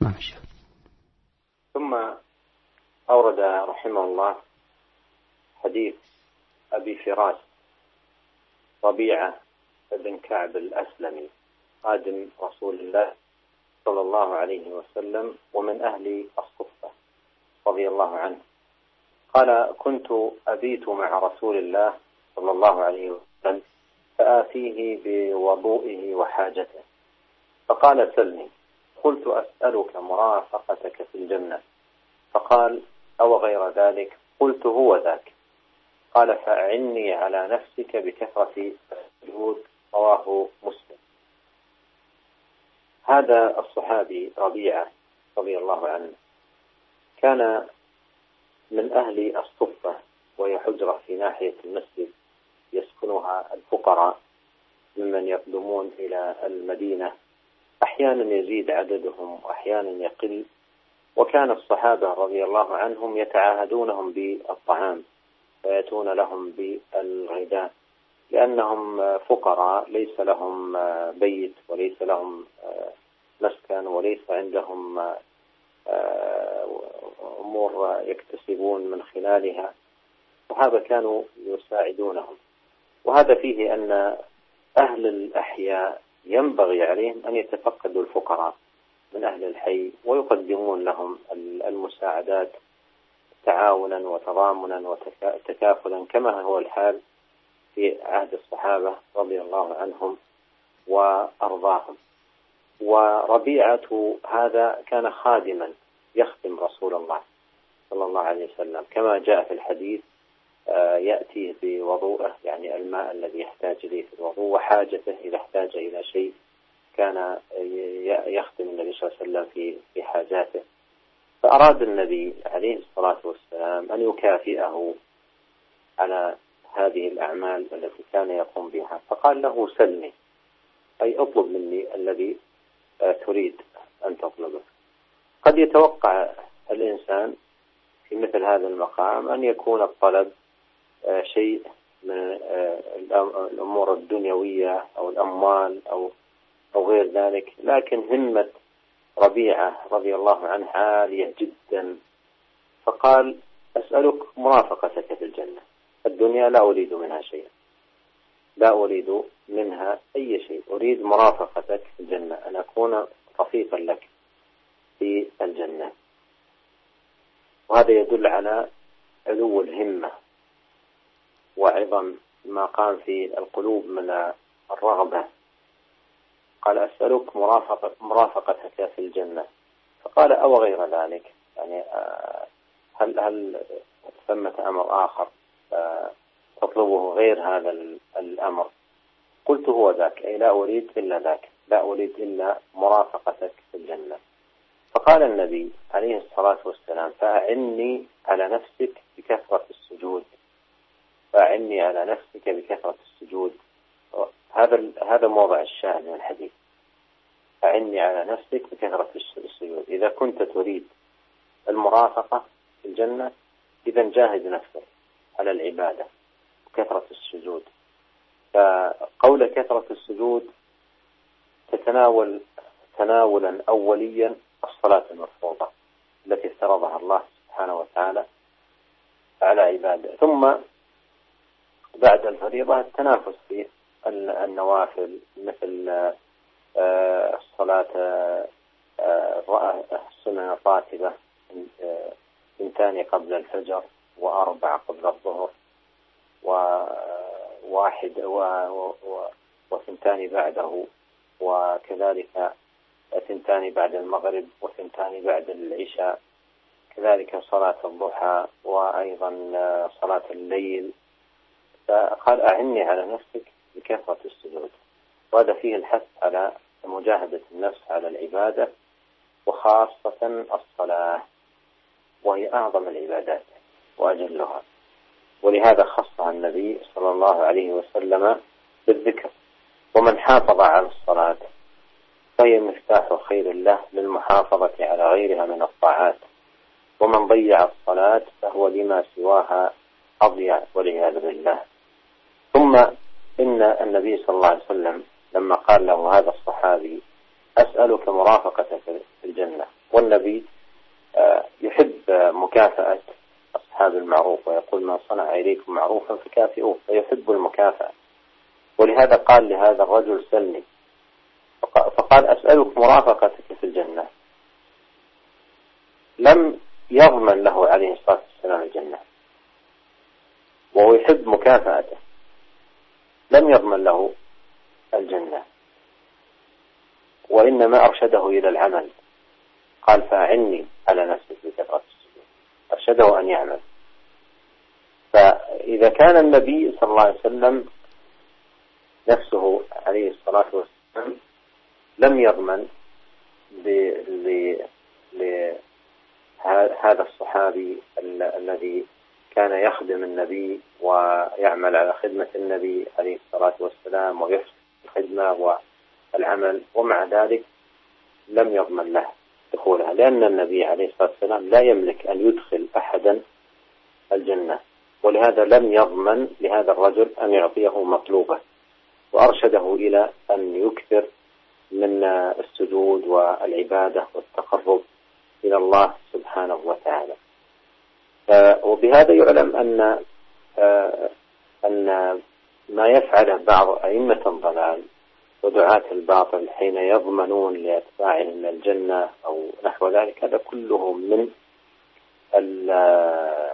ثم أورد رحمه الله حديث أبي فراس ربيعة بن كعب الأسلمي خادم رسول الله صلى الله عليه وسلم ومن أهل الصفة رضي الله عنه قال كنت أبيت مع رسول الله صلى الله عليه وسلم فآتيه بوضوئه وحاجته فقال سلني قلت أسألك مرافقتك في الجنة فقال أو غير ذلك قلت هو ذاك قال فأعني على نفسك بكثرة السجود رواه مسلم. هذا الصحابي ربيعة رضي الله عنه كان من أهل الصفة وهي حجرة في ناحية المسجد يسكنها الفقراء ممن يقدمون إلى المدينة، أحيانا يزيد عددهم وأحيانا يقل، وكان الصحابة رضي الله عنهم يتعاهدونهم بالطعام ويأتون لهم بالغداء لأنهم فقراء ليس لهم بيت وليس لهم مسكن وليس عندهم أمور يكتسبون من خلالها، وهذا كانوا يساعدونهم. وهذا فيه أن أهل الأحياء ينبغي عليهم أن يتفقدوا الفقراء من أهل الحي ويقدمون لهم المساعدات تعاونا وتضامنا وتكافلا كما هو الحال في عهد الصحابة رضي الله عنهم وأرضاهم. وربيعة هذا كان خادما يخدم رسول الله صلى الله عليه وسلم كما جاء في الحديث، يأتيه بوضوءه، يعني الماء الذي يحتاج إليه في الوضوء، وحاجته إذا احتاج إلى شيء كان يخدم النبي صلى الله عليه وسلم في حاجاته. فأراد النبي عليه الصلاة والسلام أن يكافئه على هذه الأعمال التي كان يقوم بها، فقال له سلني، أي اطلب مني الذي تريد أن تطلبه. قد يتوقع الإنسان في مثل هذا المقام أن يكون الطلب شيء من الأمور الدنيوية أو الأموال أو غير ذلك، لكن همة ربيعة رضي الله عنه عالية جدا، فقال أسألك مرافقتك في الجنة، الدنيا لا أريد منها شيئا، لا أريد منها أي شيء، أريد مرافقتك في الجنة، أن أكون رفيقا لك في الجنة. وهذا يدل على علو الهمة وعظم ما قام في القلوب من الرغبة. قال أسألك مرافقتك في الجنة، فقال أو غير ذلك، يعني هل ثمة أمر آخر تطلبه غير هذا الأمر؟ قلت هو ذاك، أي لا أريد إلا ذاك، لا أريد إلا مرافقتك في الجنة. فقال النبي عليه الصلاة والسلام فأعني على نفسك بكثرة السجود، فأعني على نفسك بكثرة السجود. هذا موضع الشاهد من الحديث، أعني على نفسك بكثرة السجود. إذا كنت تريد المرافقة في الجنة إذا جاهد نفسك على العبادة وكثرة السجود. فقول كثرة السجود تتناول تناولا أوليا الصلاة المفروضة التي افترضها الله سبحانه وتعالى على عباده، ثم بعد الفريضة التنافس في النوافل مثل الصلاة السنن الراتبة، 2 قبل الفجر و4 قبل الظهر و1 و2 بعده، وكذلك 2 بعد المغرب و2 بعد العشاء، كذلك صلاة الضحى وأيضا صلاة الليل. فقال أعني على نفسك بكثرة السجود، وهذا فيه الحث على مجاهدة النفس على العبادة، وخاصة الصلاة وهي أعظم العبادات وأجلها، ولهذا خصها النبي صلى الله عليه وسلم بالذكر. ومن حافظ على الصلاة فهي مفتاح خير له للمحافظة على غيرها من الطاعات، ومن ضيع الصلاة فهو لما سواها أضيع والعياذ بالله. ثم إن النبي صلى الله عليه وسلم لما قال له هذا الصحابي أسألك مرافقتك في الجنة، والنبي يحب مكافأة أصحاب المعروف، ويقول من صنع إليكم معروفا فكافئوه، فيحب المكافأة، ولهذا قال لهذا الرجل سلني، فقال أسألك مرافقتك في الجنة. لم يضمن له عليه الصلاة والسلام الجنة وهو يحب مكافأته، لم يضمن له الجنة، وإنما أرشده إلى العمل. قال فأعني على نفسك بكثرة السجود، أرشده أن يعمل. فإذا كان النبي صلى الله عليه وسلم نفسه عليه الصلاة والسلام لم يضمن لهذا الصحابي الذي كان يخدم النبي ويعمل على خدمة النبي عليه الصلاة والسلام ويحسن الخدمة والعمل، ومع ذلك لم يضمن له دخولها، لأن النبي عليه الصلاة والسلام لا يملك أن يدخل أحدا الجنة، ولهذا لم يضمن لهذا الرجل أن يعطيه مطلوبه، وأرشده إلى أن يكثر من السجود والعبادة والتقرب إلى الله سبحانه وتعالى. وبهذا يعلم أن ما يفعله بعض أئمة الضلال ودعاة الباطل حين يضمنون لأتباعهم الجنة أو نحو ذلك، هذا كله من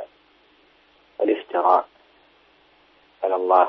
على الله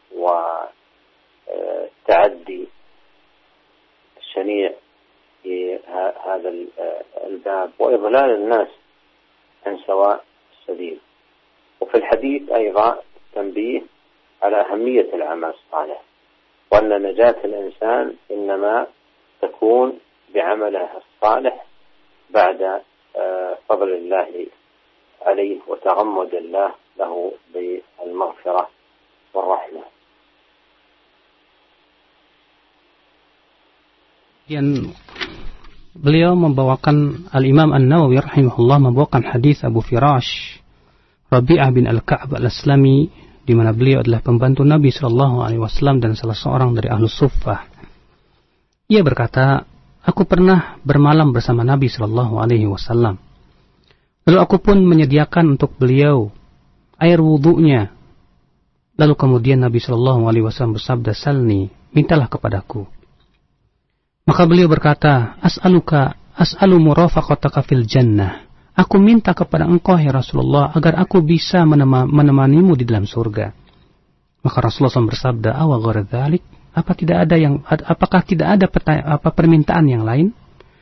والتعدي الشنيع في هذا الباب وإضلال الناس عن سواء السبيل. وفي الحديث أيضا تنبيه على أهمية العمل الصالح، وأن نجاة الإنسان إنما تكون بعمله الصالح بعد فضل الله عليه وتغمد الله له بالمغفرة والرحمة. Kemudian beliau membawakan Al-Imam An-Nawawi rahimahullah membawakan hadis Abu Firash Rabi'ah bin Al-Ka'ab Al-Aslami, di mana beliau adalah pembantu Nabi sallallahu alaihi wasallam dan salah seorang dari Ahlus Suffah. Ia berkata, aku pernah bermalam bersama Nabi sallallahu alaihi wasallam. Lalu aku pun menyediakan untuk beliau air wudunya. Lalu kemudian Nabi sallallahu alaihi wasallam bersabda, "Salni, mintalah kepadaku." Maka beliau berkata, as'alu murafaqataka fil jannah. Aku minta kepada engkau ya Rasulullah agar aku bisa menemanimu di dalam surga. Maka Rasulullah SAW bersabda, awa ghairu dzalik, apakah tidak ada permintaan yang lain?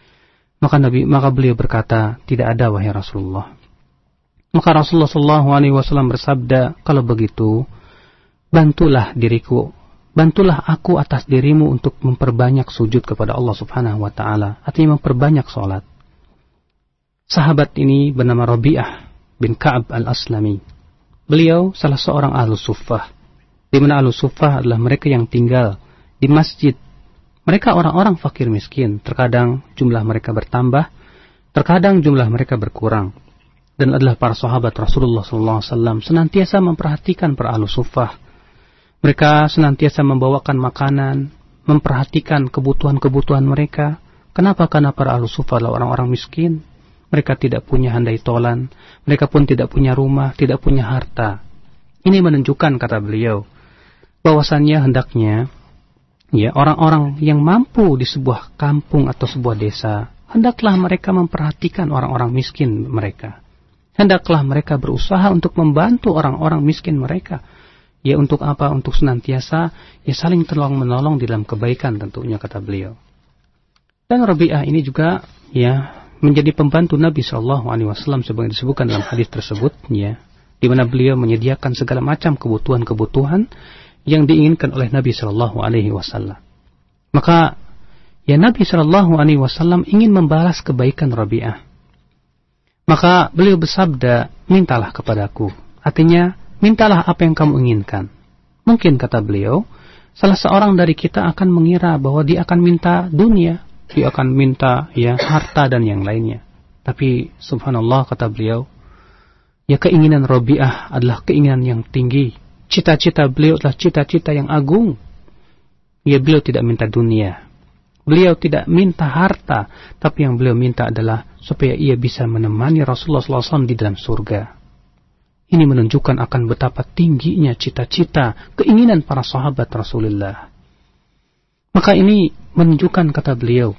Maka beliau berkata, tidak ada wahai Rasulullah. Maka Rasulullah SAW bersabda, kalau begitu bantulah aku atas dirimu untuk memperbanyak sujud kepada Allah Subhanahu wa taala, artinya memperbanyak salat. Sahabat ini bernama Rabi'ah bin Ka'ab Al-Aslami. Beliau salah seorang Ahlus Suffah, di mana Ahlus Suffah adalah mereka yang tinggal di masjid. Mereka orang-orang fakir miskin, terkadang jumlah mereka bertambah, terkadang jumlah mereka berkurang. Dan adalah para sahabat Rasulullah SAW senantiasa memperhatikan para Ahlus Suffah. Mereka senantiasa membawakan makanan, memperhatikan kebutuhan-kebutuhan mereka. Kenapa? Karena para Ahlus Suffah adalah orang-orang miskin. Mereka tidak punya handai tolan, mereka pun tidak punya rumah, tidak punya harta. Ini menunjukkan, kata beliau, bahwasannya hendaknya orang-orang yang mampu di sebuah kampung atau sebuah desa, hendaklah mereka memperhatikan orang-orang miskin mereka. Hendaklah mereka berusaha untuk membantu orang-orang miskin mereka. Ya untuk apa? Untuk senantiasa saling tolong-menolong di dalam kebaikan tentunya, kata beliau. Dan Rabi'ah ini juga menjadi pembantu Nabi SAW sebagai disebutkan dalam hadis tersebut, di mana beliau menyediakan segala macam kebutuhan-kebutuhan yang diinginkan oleh Nabi SAW. Maka Nabi SAW ingin membalas kebaikan Rabi'ah. Maka beliau bersabda, mintalah kepadaku. Artinya, mintalah apa yang kamu inginkan. Mungkin kata beliau, salah seorang dari kita akan mengira bahwa dia akan minta dunia, dia akan minta harta dan yang lainnya. Tapi subhanallah, kata beliau, keinginan Rabi'ah adalah keinginan yang tinggi. Cita-cita beliau adalah cita-cita yang agung. Beliau tidak minta dunia, beliau tidak minta harta, tapi yang beliau minta adalah supaya ia bisa menemani Rasulullah SAW di dalam surga. Ini menunjukkan akan betapa tingginya cita-cita, keinginan para sahabat Rasulullah. Maka ini menunjukkan, kata beliau,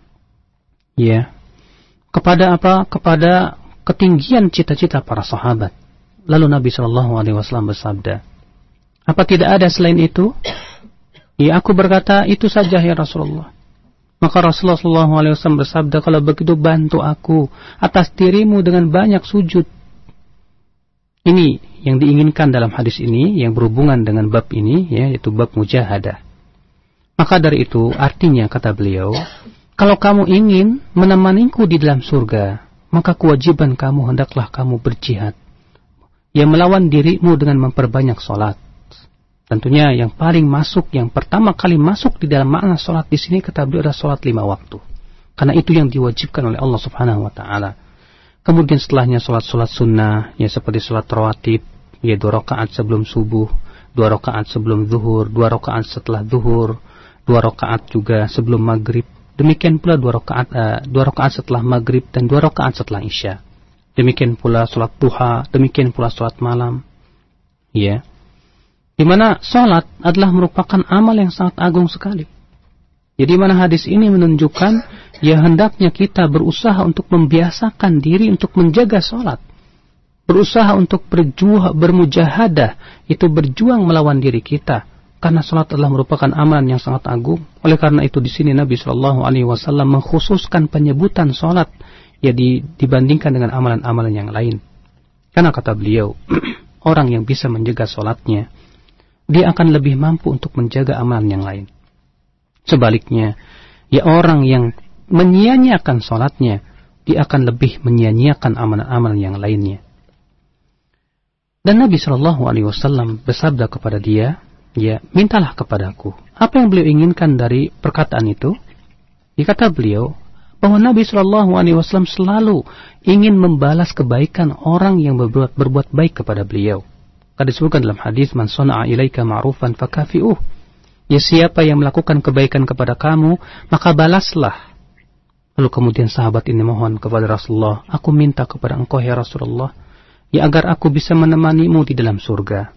kepada apa? Kepada ketinggian cita-cita para sahabat. Lalu Nabi SAW bersabda, apa tidak ada selain itu? Aku berkata, itu saja ya Rasulullah. Maka Rasulullah SAW bersabda, kalau begitu bantu aku atas dirimu dengan banyak sujud. Ini yang diinginkan dalam hadis ini, yang berhubungan dengan bab ini, yaitu bab mujahadah. Maka dari itu, artinya kata beliau, kalau kamu ingin menemaniku di dalam surga, maka kewajiban kamu hendaklah kamu berjihad, melawan dirimu dengan memperbanyak sholat. Tentunya yang paling masuk, yang pertama kali masuk di dalam makna sholat di sini, kata beliau, adalah sholat 5 waktu. Karena itu yang diwajibkan oleh Allah Subhanahu Wa Taala. Kemudian setelahnya sholat-sholat sunnah, seperti sholat rawatib, 2 rakaat sebelum subuh, 2 rakaat sebelum zuhur, 2 rakaat setelah zuhur, 2 rakaat juga sebelum maghrib. Demikian pula 2 rakaat setelah maghrib dan 2 rakaat setelah isya. Demikian pula sholat duha, demikian pula sholat malam. Di mana sholat adalah merupakan amal yang sangat agung sekali. Jadi mana hadis ini menunjukkan hendaknya kita berusaha untuk membiasakan diri untuk menjaga sholat. berusaha untuk bermujahadah, itu berjuang melawan diri kita, karena salat adalah merupakan amalan yang sangat agung. Oleh karena itu di sini Nabi Shallallahu Alaihi Wasallam mengkhususkan penyebutan salat ya dibandingkan dengan amalan-amalan yang lain. Karena kata beliau, orang yang bisa menjaga salatnya, dia akan lebih mampu untuk menjaga amalan yang lain. Sebaliknya, ya orang yang menyia-nyiakan salatnya, dia akan lebih menyia-nyiakan amalan-amalan yang lainnya. Dan Nabi Shallallahu Alaihi Wasallam bersabda kepada dia, ya mintalah kepadaku. Apa yang beliau inginkan dari perkataan itu? Dikata beliau bahwa Nabi Shallallahu Alaihi Wasallam selalu ingin membalas kebaikan orang yang berbuat baik kepada beliau. Karena disebutkan dalam hadis, man sana'a ilaika ma'rufan fakafi'uh. Ya siapa yang melakukan kebaikan kepada kamu, maka balaslah. Lalu kemudian sahabat ini mohon kepada Rasulullah, aku minta kepada engkau ya Rasulullah, ya agar aku bisa menemanimu di dalam surga.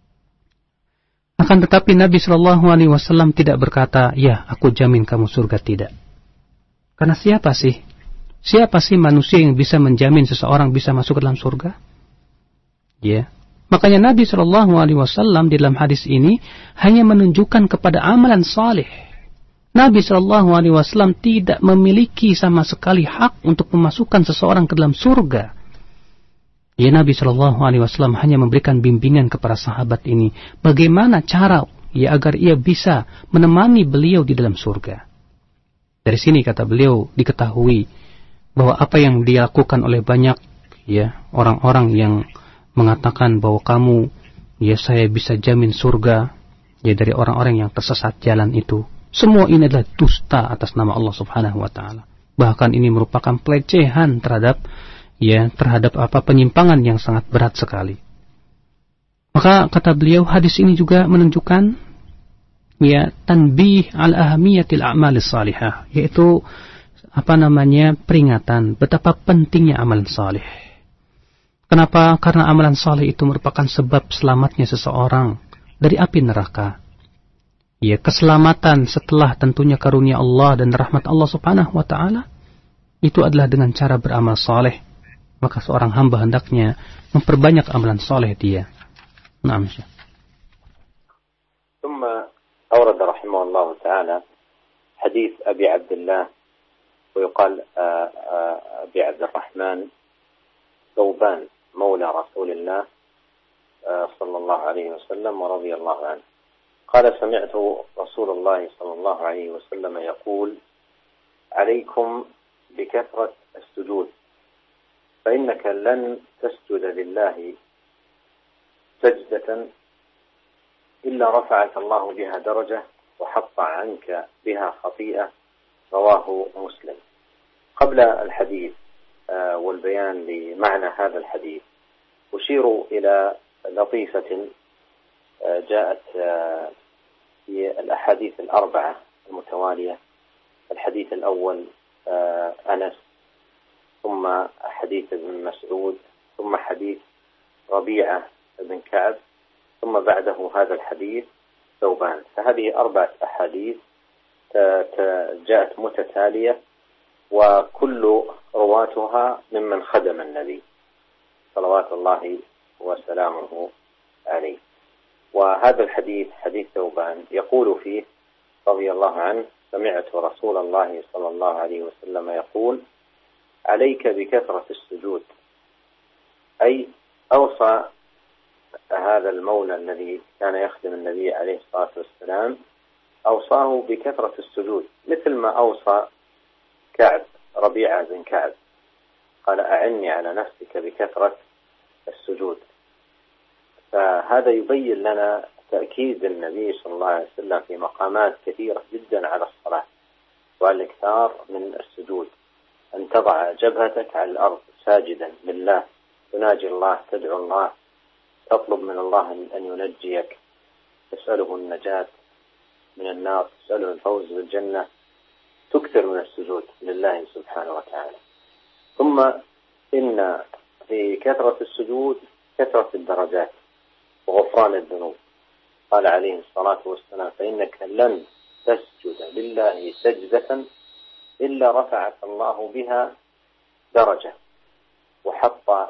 Akan tetapi Nabi Shallallahu Alaihi Wasallam tidak berkata, ya aku jamin kamu surga, tidak. Karena siapa sih manusia yang bisa menjamin seseorang bisa masuk ke dalam surga? Ya, makanya Nabi Shallallahu Alaihi Wasallam di dalam hadis ini hanya menunjukkan kepada amalan saleh. Nabi Shallallahu Alaihi Wasallam tidak memiliki sama sekali hak untuk memasukkan seseorang ke dalam surga. Ya, Nabi Shallallahu Alaihi Wasallam hanya memberikan bimbingan kepada sahabat ini, bagaimana cara ya agar ia bisa menemani beliau di dalam surga. Dari sini kata beliau diketahui bahwa apa yang dilakukan oleh banyak ya orang-orang yang mengatakan bahwa kamu ya saya bisa jamin surga ya dari orang-orang yang tersesat jalan itu, semua ini adalah dusta atas nama Allah Subhanahu Wa Taala. Bahkan ini merupakan pelecehan terhadap penyimpangan yang sangat berat sekali. Maka kata beliau hadis ini juga menunjukkan ya tanbih al ahamiyatil a'malis salihah, yaitu peringatan betapa pentingnya amalan saleh. Kenapa? Karena amalan saleh itu merupakan sebab selamatnya seseorang dari api neraka. Ya, keselamatan setelah tentunya karunia Allah dan rahmat Allah Subhanahu Wa Taala itu adalah dengan cara beramal saleh. Maka seorang hamba hendaknya memperbanyak amalan soleh dia. Naam. ثم أورد رحمه الله تعالى حديث أبي عبد الله ويقال أبي عبد الرحمن ثوبان مولى رسول الله صلى الله عليه وسلم ورضي الله عنه قال سمعت رسول الله صلى الله عليه وسلم يقول عليكم بكثرة السجود فإنك لن تسجد لله سجدة إلا رفعك الله بها درجة وحط عنك بها خطيئة رواه مسلم. قبل الحديث والبيان لمعنى هذا الحديث أشير إلى لطيفة جاءت في الأحاديث الأربعة المتوالية. الحديث الأول أنس، ثم حديث ابن مسعود، ثم حديث ربيعة بن كعب، ثم بعده هذا الحديث ثوبان. فهذه 4 أحاديث جاءت متتالية وكل رواتها ممن خدم النبي صلوات الله وسلامه عليه. وهذا الحديث حديث ثوبان يقول فيه رضي الله عنه سمعت رسول الله صلى الله عليه وسلم يقول عليك بكثرة السجود، أي أوصى هذا المولى الذي كان يخدم النبي عليه الصلاة والسلام أوصاه بكثرة السجود، مثل ما أوصى كعب ربيعة بن كعب قال أعني على نفسك بكثرة السجود. فهذا يبين لنا تأكيد النبي صلى الله عليه وسلم في مقامات كثيرة جدا على الصلاة والإكثار من السجود، أن تضع جبهتك على الأرض ساجدا لله، تناجي الله، تدعو الله، تطلب من الله أن ينجيك، تسأله النجاة من النار، تسأله الفوز بالجنة، تكثر من السجود لله سبحانه وتعالى. ثم إن في كثرة السجود كثرة الدرجات وغفران الذنوب. قال عليه الصلاة والسلام فإنك لن تسجد لله سجدة إلا رفعك الله بها درجة وحط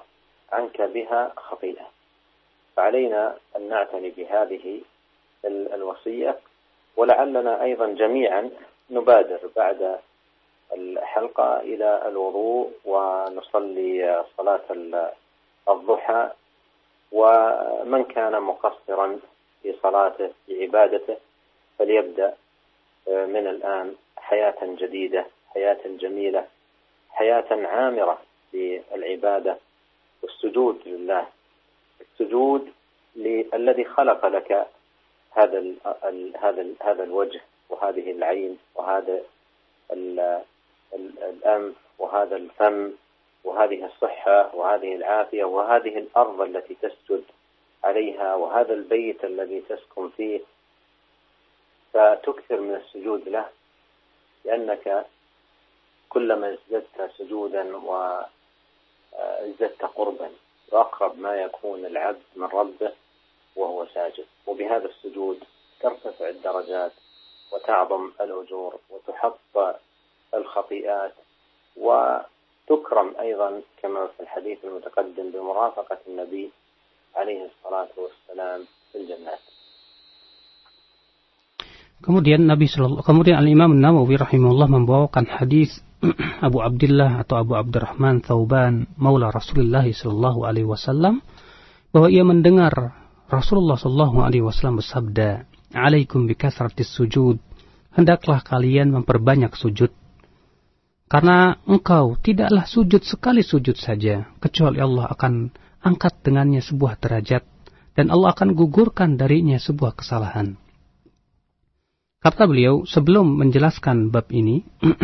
عنك بها خطيئة. فعلينا أن نعتني بهذه الوصية، ولعلنا أيضا جميعا نبادر بعد الحلقة إلى الوضوء ونصلي صلاة الضحى. ومن كان مقصرا في صلاته في عبادته فليبدأ من الآن حياة جديدة، حياة جميلة، حياة عامرة بالعبادة والسجود لله، السجود الذي خلق لك هذا الوجه وهذه العين وهذا الأنف وهذا الفم وهذه الصحة وهذه العافية وهذه الأرض التي تسجد عليها وهذا البيت الذي تسكن فيه. فتكثر من السجود له، لأنك كلما ازددت سجودا وازددت قربا وأقرب ما يكون العبد من ربه وهو ساجد. وبهذا السجود ترتفع الدرجات وتعظم الأجور وتحط الخطيئات وتكرم أيضا كما في الحديث المتقدم بمرافقة النبي عليه الصلاة والسلام في الجنات. Kemudian Al-Imam Nawawi rahimahullah membawakan hadis Abu Abdullah atau Abu Abdurrahman Thauban maula Rasulullah sallallahu alaihi wasallam bahwa ia mendengar Rasulullah sallallahu alaihi wasallam bersabda, "Alaikum bikasratis sujud." Hendaklah kalian memperbanyak sujud. Karena engkau tidaklah sujud sekali sujud saja, kecuali Allah akan angkat dengannya sebuah derajat dan Allah akan gugurkan darinya sebuah kesalahan. Kata beliau, sebelum menjelaskan bab ini,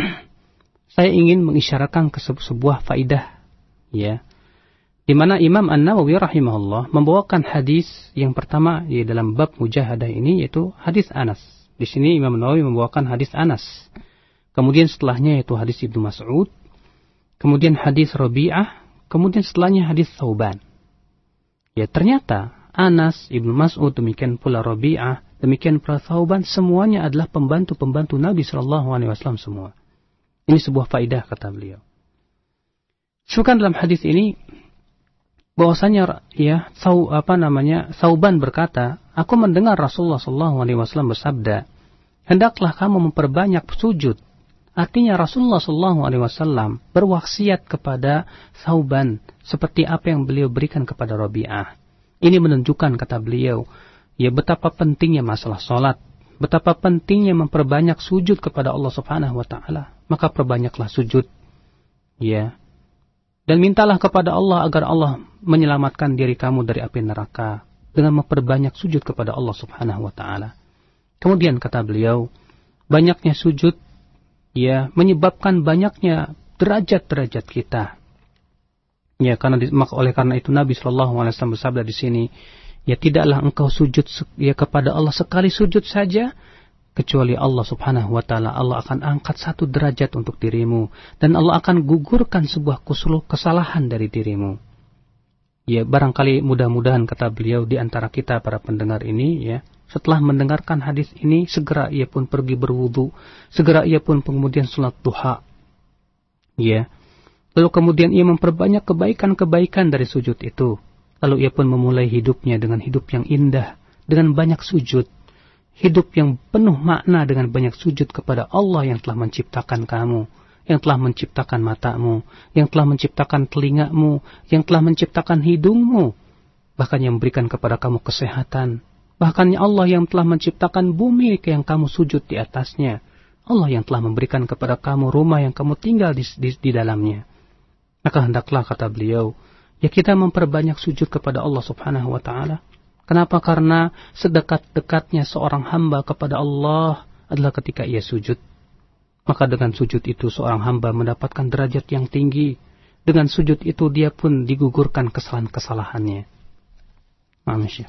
saya ingin mengisyaratkan ke sebuah faidah, ya, di mana Imam An-Nawawi rahimahullah membawakan hadis yang pertama di dalam bab mujahadah ini, yaitu hadis Anas. Di sini Imam Nawawi membawakan hadis Anas. Kemudian setelahnya yaitu hadis Ibnu Mas'ud, kemudian hadis Rabi'ah, kemudian setelahnya hadis Thauban. Ya, ternyata Anas, Ibnu Mas'ud, demikian pula Rabi'ah, demikian pula Thauban, semuanya adalah pembantu-pembantu Nabi SAW semua. Ini sebuah faidah kata beliau. Sebutkan dalam hadis ini bahwasanya ya Thauban berkata, aku mendengar Rasulullah SAW bersabda, hendaklah kamu memperbanyak sujud. Artinya Rasulullah SAW berwasiat kepada Thauban seperti apa yang beliau berikan kepada Rabi'ah. Ini menunjukkan kata beliau, ya betapa pentingnya masalah sholat, betapa pentingnya memperbanyak sujud kepada Allah Subhanahu wa taala. Maka perbanyaklah sujud. Ya. Dan mintalah kepada Allah agar Allah menyelamatkan diri kamu dari api neraka dengan memperbanyak sujud kepada Allah Subhanahu wa taala. Kemudian kata beliau, banyaknya sujud ya menyebabkan banyaknya derajat-derajat kita. Ya, oleh karena itu Nabi SAW bersabda di sini, ya tidaklah engkau sujud ya kepada Allah sekali sujud saja, kecuali Allah Subhanahu wa taala Allah akan angkat satu derajat untuk dirimu dan Allah akan gugurkan sebuah kesalahan dari dirimu. Ya, barangkali mudah-mudahan kata beliau di antara kita para pendengar ini ya, setelah mendengarkan hadis ini segera ia pun pergi berwudu, segera ia pun kemudian salat duha. Ya. Lalu kemudian ia memperbanyak kebaikan-kebaikan dari sujud itu. Lalu ia pun memulai hidupnya dengan hidup yang indah, dengan banyak sujud. Hidup yang penuh makna dengan banyak sujud kepada Allah yang telah menciptakan kamu, yang telah menciptakan matamu, yang telah menciptakan telingamu, yang telah menciptakan hidungmu, bahkan yang memberikan kepada kamu kesehatan. Bahkan Allah yang telah menciptakan bumi yang kamu sujud di atasnya. Allah yang telah memberikan kepada kamu rumah yang kamu tinggal di dalamnya. Maka hendaklah kata beliau, ya kita memperbanyak sujud kepada Allah Subhanahu wa taala. Kenapa? Karena sedekat-dekatnya seorang hamba kepada Allah adalah ketika ia sujud. Maka dengan sujud itu seorang hamba mendapatkan derajat yang tinggi. Dengan sujud itu dia pun digugurkan kesalahan-kesalahannya. Manusia.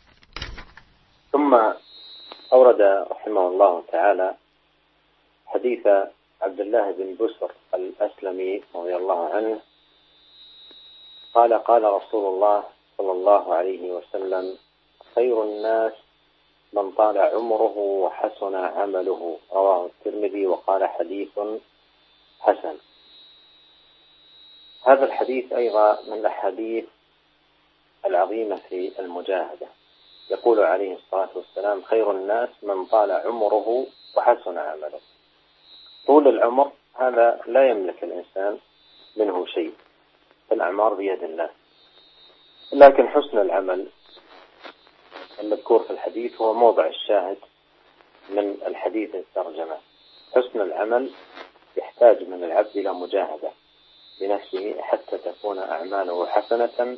ثم أورد رحمه الله تعالى حديث عبد الله بن بسر الأسلمي رضي الله عنه قال رسول الله صلى الله عليه وسلم خير الناس من طال عمره وحسن عمله رواه الترمذي وقال حديث حسن. هذا الحديث أيضا من الأحاديث العظيمة في المجاهدة. يقول عليه الصلاة والسلام: خير الناس من طال عمره وحسن عمله. طول العمر هذا لا يملك الإنسان منه شيء، الأعمار بيد الله، لكن حسن العمل المذكور في الحديث هو موضع الشاهد من الحديث الترجمة. حسن العمل يحتاج من العبد إلى مجاهدة بنفسه حتى تكون أعماله حسنة،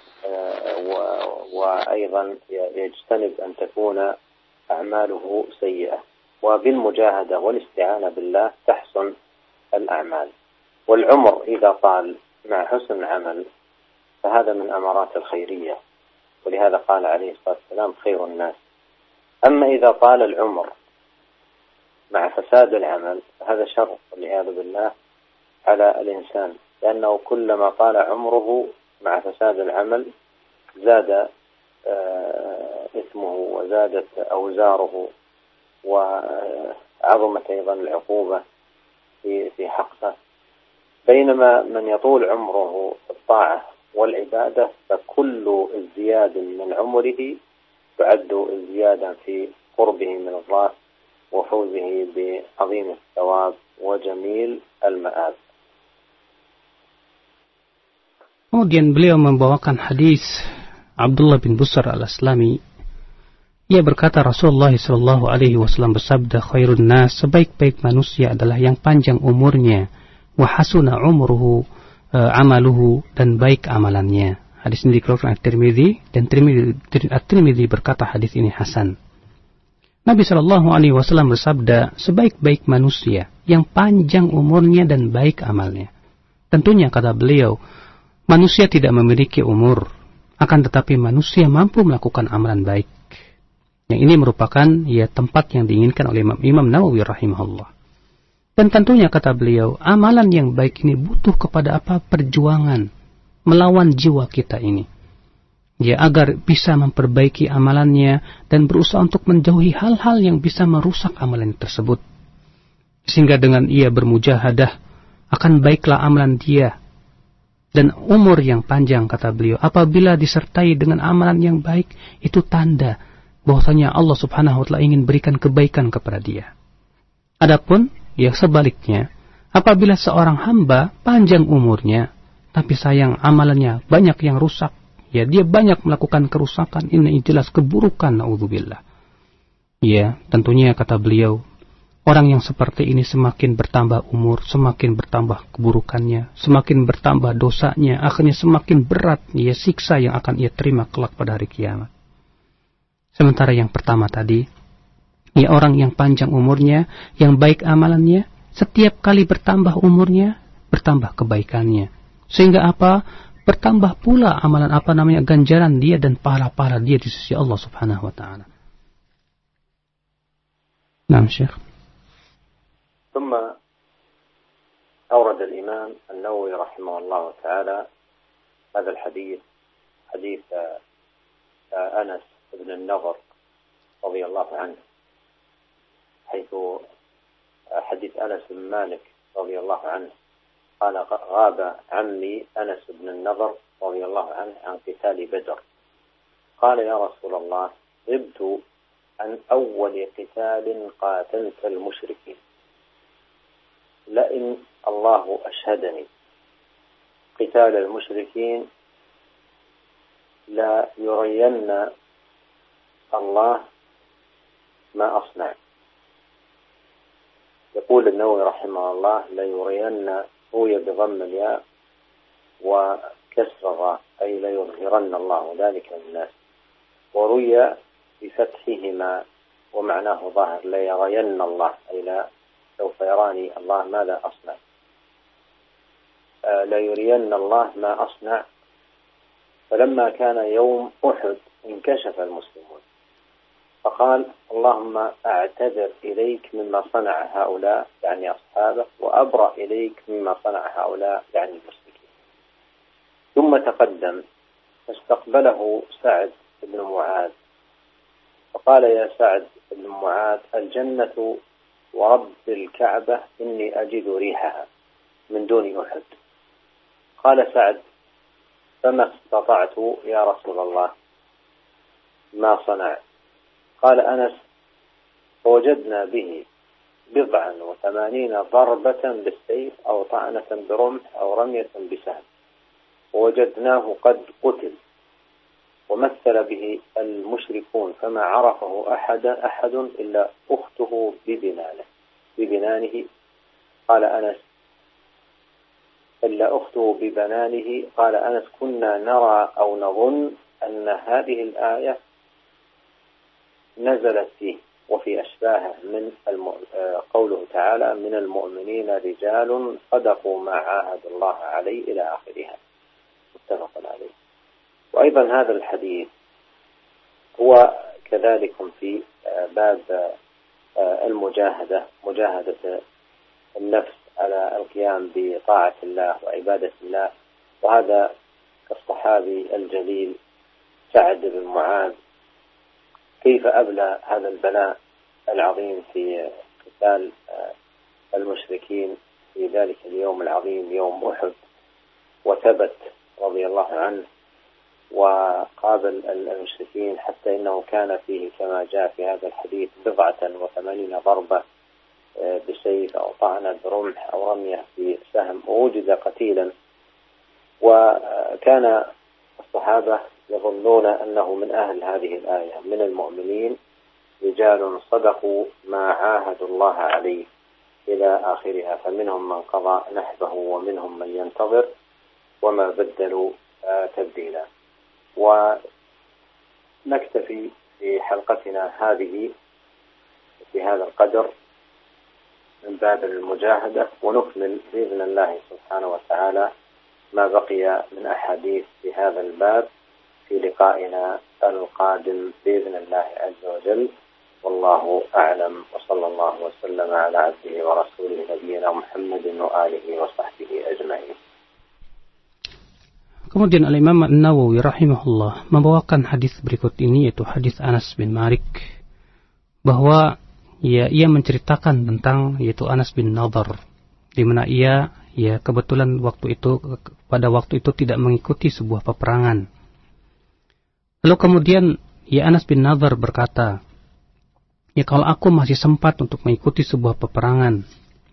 وأيضا يجتنب أن تكون أعماله سيئة. وبالمجاهدة والاستعانة بالله تحسن الأعمال. والعمر إذا طال مع حسن العمل فهذا من أمارات الخيرية، ولهذا قال عليه الصلاة والسلام: خير الناس. أما إذا طال العمر مع فساد العمل فهذا شر والعياذ بالله على الإنسان، لأنه كلما طال عمره مع فساد العمل زاد إثمه وزادت أوزاره وعظمت أيضا العقوبة في حقه. بينما من يطول عمره في الطاعة والعبادة فكل ازدياد من عمره تعد ازديادا في قربه من الله وفوزه بعظيم الثواب وجميل المآب. Kemudian beliau membawakan hadis Abdullah bin Busr al-Aslami. Ia berkata Rasulullah SAW bersabda, khairun nas, sebaik-baik manusia adalah yang panjang umurnya, wa hasuna umruhu amaluhu, dan baik amalannya. Hadis ini dikeluarkan At-Tirmidzi, dan At-Tirmidzi berkata hadis ini hasan. Nabi SAW bersabda, sebaik-baik manusia yang panjang umurnya dan baik amalnya. Tentunya kata beliau, manusia tidak memiliki umur, akan tetapi manusia mampu melakukan amalan baik. Yang ini merupakan tempat yang diinginkan oleh Imam Nawawi rahimahullah. Dan tentunya kata beliau, amalan yang baik ini butuh kepada perjuangan melawan jiwa kita ini. Agar bisa memperbaiki amalannya dan berusaha untuk menjauhi hal-hal yang bisa merusak amalan tersebut. Sehingga dengan ia bermujahadah akan baiklah amalan dia. Dan umur yang panjang kata beliau apabila disertai dengan amalan yang baik, itu tanda bahwasanya Allah Subhanahu wa taala ingin berikan kebaikan kepada dia. Adapun sebaliknya, apabila seorang hamba panjang umurnya tapi sayang amalannya banyak yang rusak, dia banyak melakukan kerusakan, ini jelas keburukan, naudzubillah. Tentunya kata beliau, orang yang seperti ini semakin bertambah umur, semakin bertambah keburukannya, semakin bertambah dosanya, akhirnya semakin berat siksa yang akan ia terima kelak pada hari kiamat. Sementara yang pertama tadi, orang yang panjang umurnya, yang baik amalannya, setiap kali bertambah umurnya, bertambah kebaikannya. Sehingga bertambah pula amalan ganjaran dia dan pahala-pahala dia di sisi Allah Subhanahu wa taala. Naam, Syekh. ثم أورد الإمام النووي رحمه الله تعالى هذا الحديث، حديث أنس بن النضر رضي الله عنه، حيث حديث أنس بن مالك رضي الله عنه قال: غاب عمي أنس بن النضر رضي الله عنه عن قتال بدر. قال: يا رسول الله، غبت عن أول قتال قاتلت المشركين، لئن الله أشهدني قتال المشركين لا يرين الله ما أصنع. يقول النووي رحمه الله: لا يرين، روي بضم الياء وكسر الراء، أي لا يظهرن الله ذلك للناس، وروي بفتحهما ومعناه ظاهر، لا يرين الله، أي لا سوف يراني الله ماذا أصنع، لا يرين الله ما أصنع. فلما كان يوم أحد انكشف المسلمون فقال: اللهم أعتذر إليك مما صنع هؤلاء، يعني أصحابه، وأبرأ إليك مما صنع هؤلاء، يعني المشركين. ثم تقدم فاستقبله سعد بن معاذ فقال: يا سعد بن معاذ، الجنة ورب الكعبة إني أجد ريحها من دون أحد. قال سعد: فما استطعت يا رسول الله ما صنع. قال أنس: فوجدنا به 89 ضربة بالسيف أو طعنة برمح أو رمية بسهم، ووجدناه قد قتل، ومثل به المشركون فما عرفه أحد إلا أخته ببنانه. قال أنس: إلا أخته ببنانه. قال أنس: كنا نرى أو نظن أن هذه الآية نزلت فيه وفي أشباهه من قوله تعالى: من المؤمنين رجال صدقوا ما عاهدوا الله عليه إلى آخرها، متفق عليه. وأيضا هذا الحديث هو كذلك في باب المجاهدة، مجاهدة النفس على القيام بطاعة الله وعبادة الله. وهذا كالصحابي الجليل سعد بن معاذ، كيف أبلى هذا البلاء العظيم في قتال المشركين في ذلك اليوم العظيم يوم أحد، وثبت رضي الله عنه وقابل المشركين، حتى إنه كان فيه كما جاء في هذا الحديث 89 ضربة بسيف أو طعنة برمح أو رمية بسهم، ووجد قتيلا. وكان الصحابة يظنون أنه من أهل هذه الآية: من المؤمنين رجال صدقوا ما عاهدوا الله عليه إلى آخرها، فمنهم من قضى نحبه ومنهم من ينتظر وما بدلوا تبديلا. ونكتفي في حلقتنا هذه في هذا القدر من باب المجاهدة، ونكمل بإذن الله سبحانه وتعالى ما بقي من أحاديث في هذا الباب في لقائنا القادم بإذن الله عز وجل. والله أعلم، وصلى الله وسلم على عبده ورسوله نبينا محمد وآله وصحبه أجمعين. Kemudian Al-Imam An-Nawawi rahimahullah membawakan hadis berikut ini, yaitu hadis Anas bin Malik, bahwa ia menceritakan tentang yaitu Anas bin Nadhr, di mana ia kebetulan pada waktu itu tidak mengikuti sebuah peperangan. Lalu kemudian Anas bin Nadhr berkata, kalau aku masih sempat untuk mengikuti sebuah peperangan,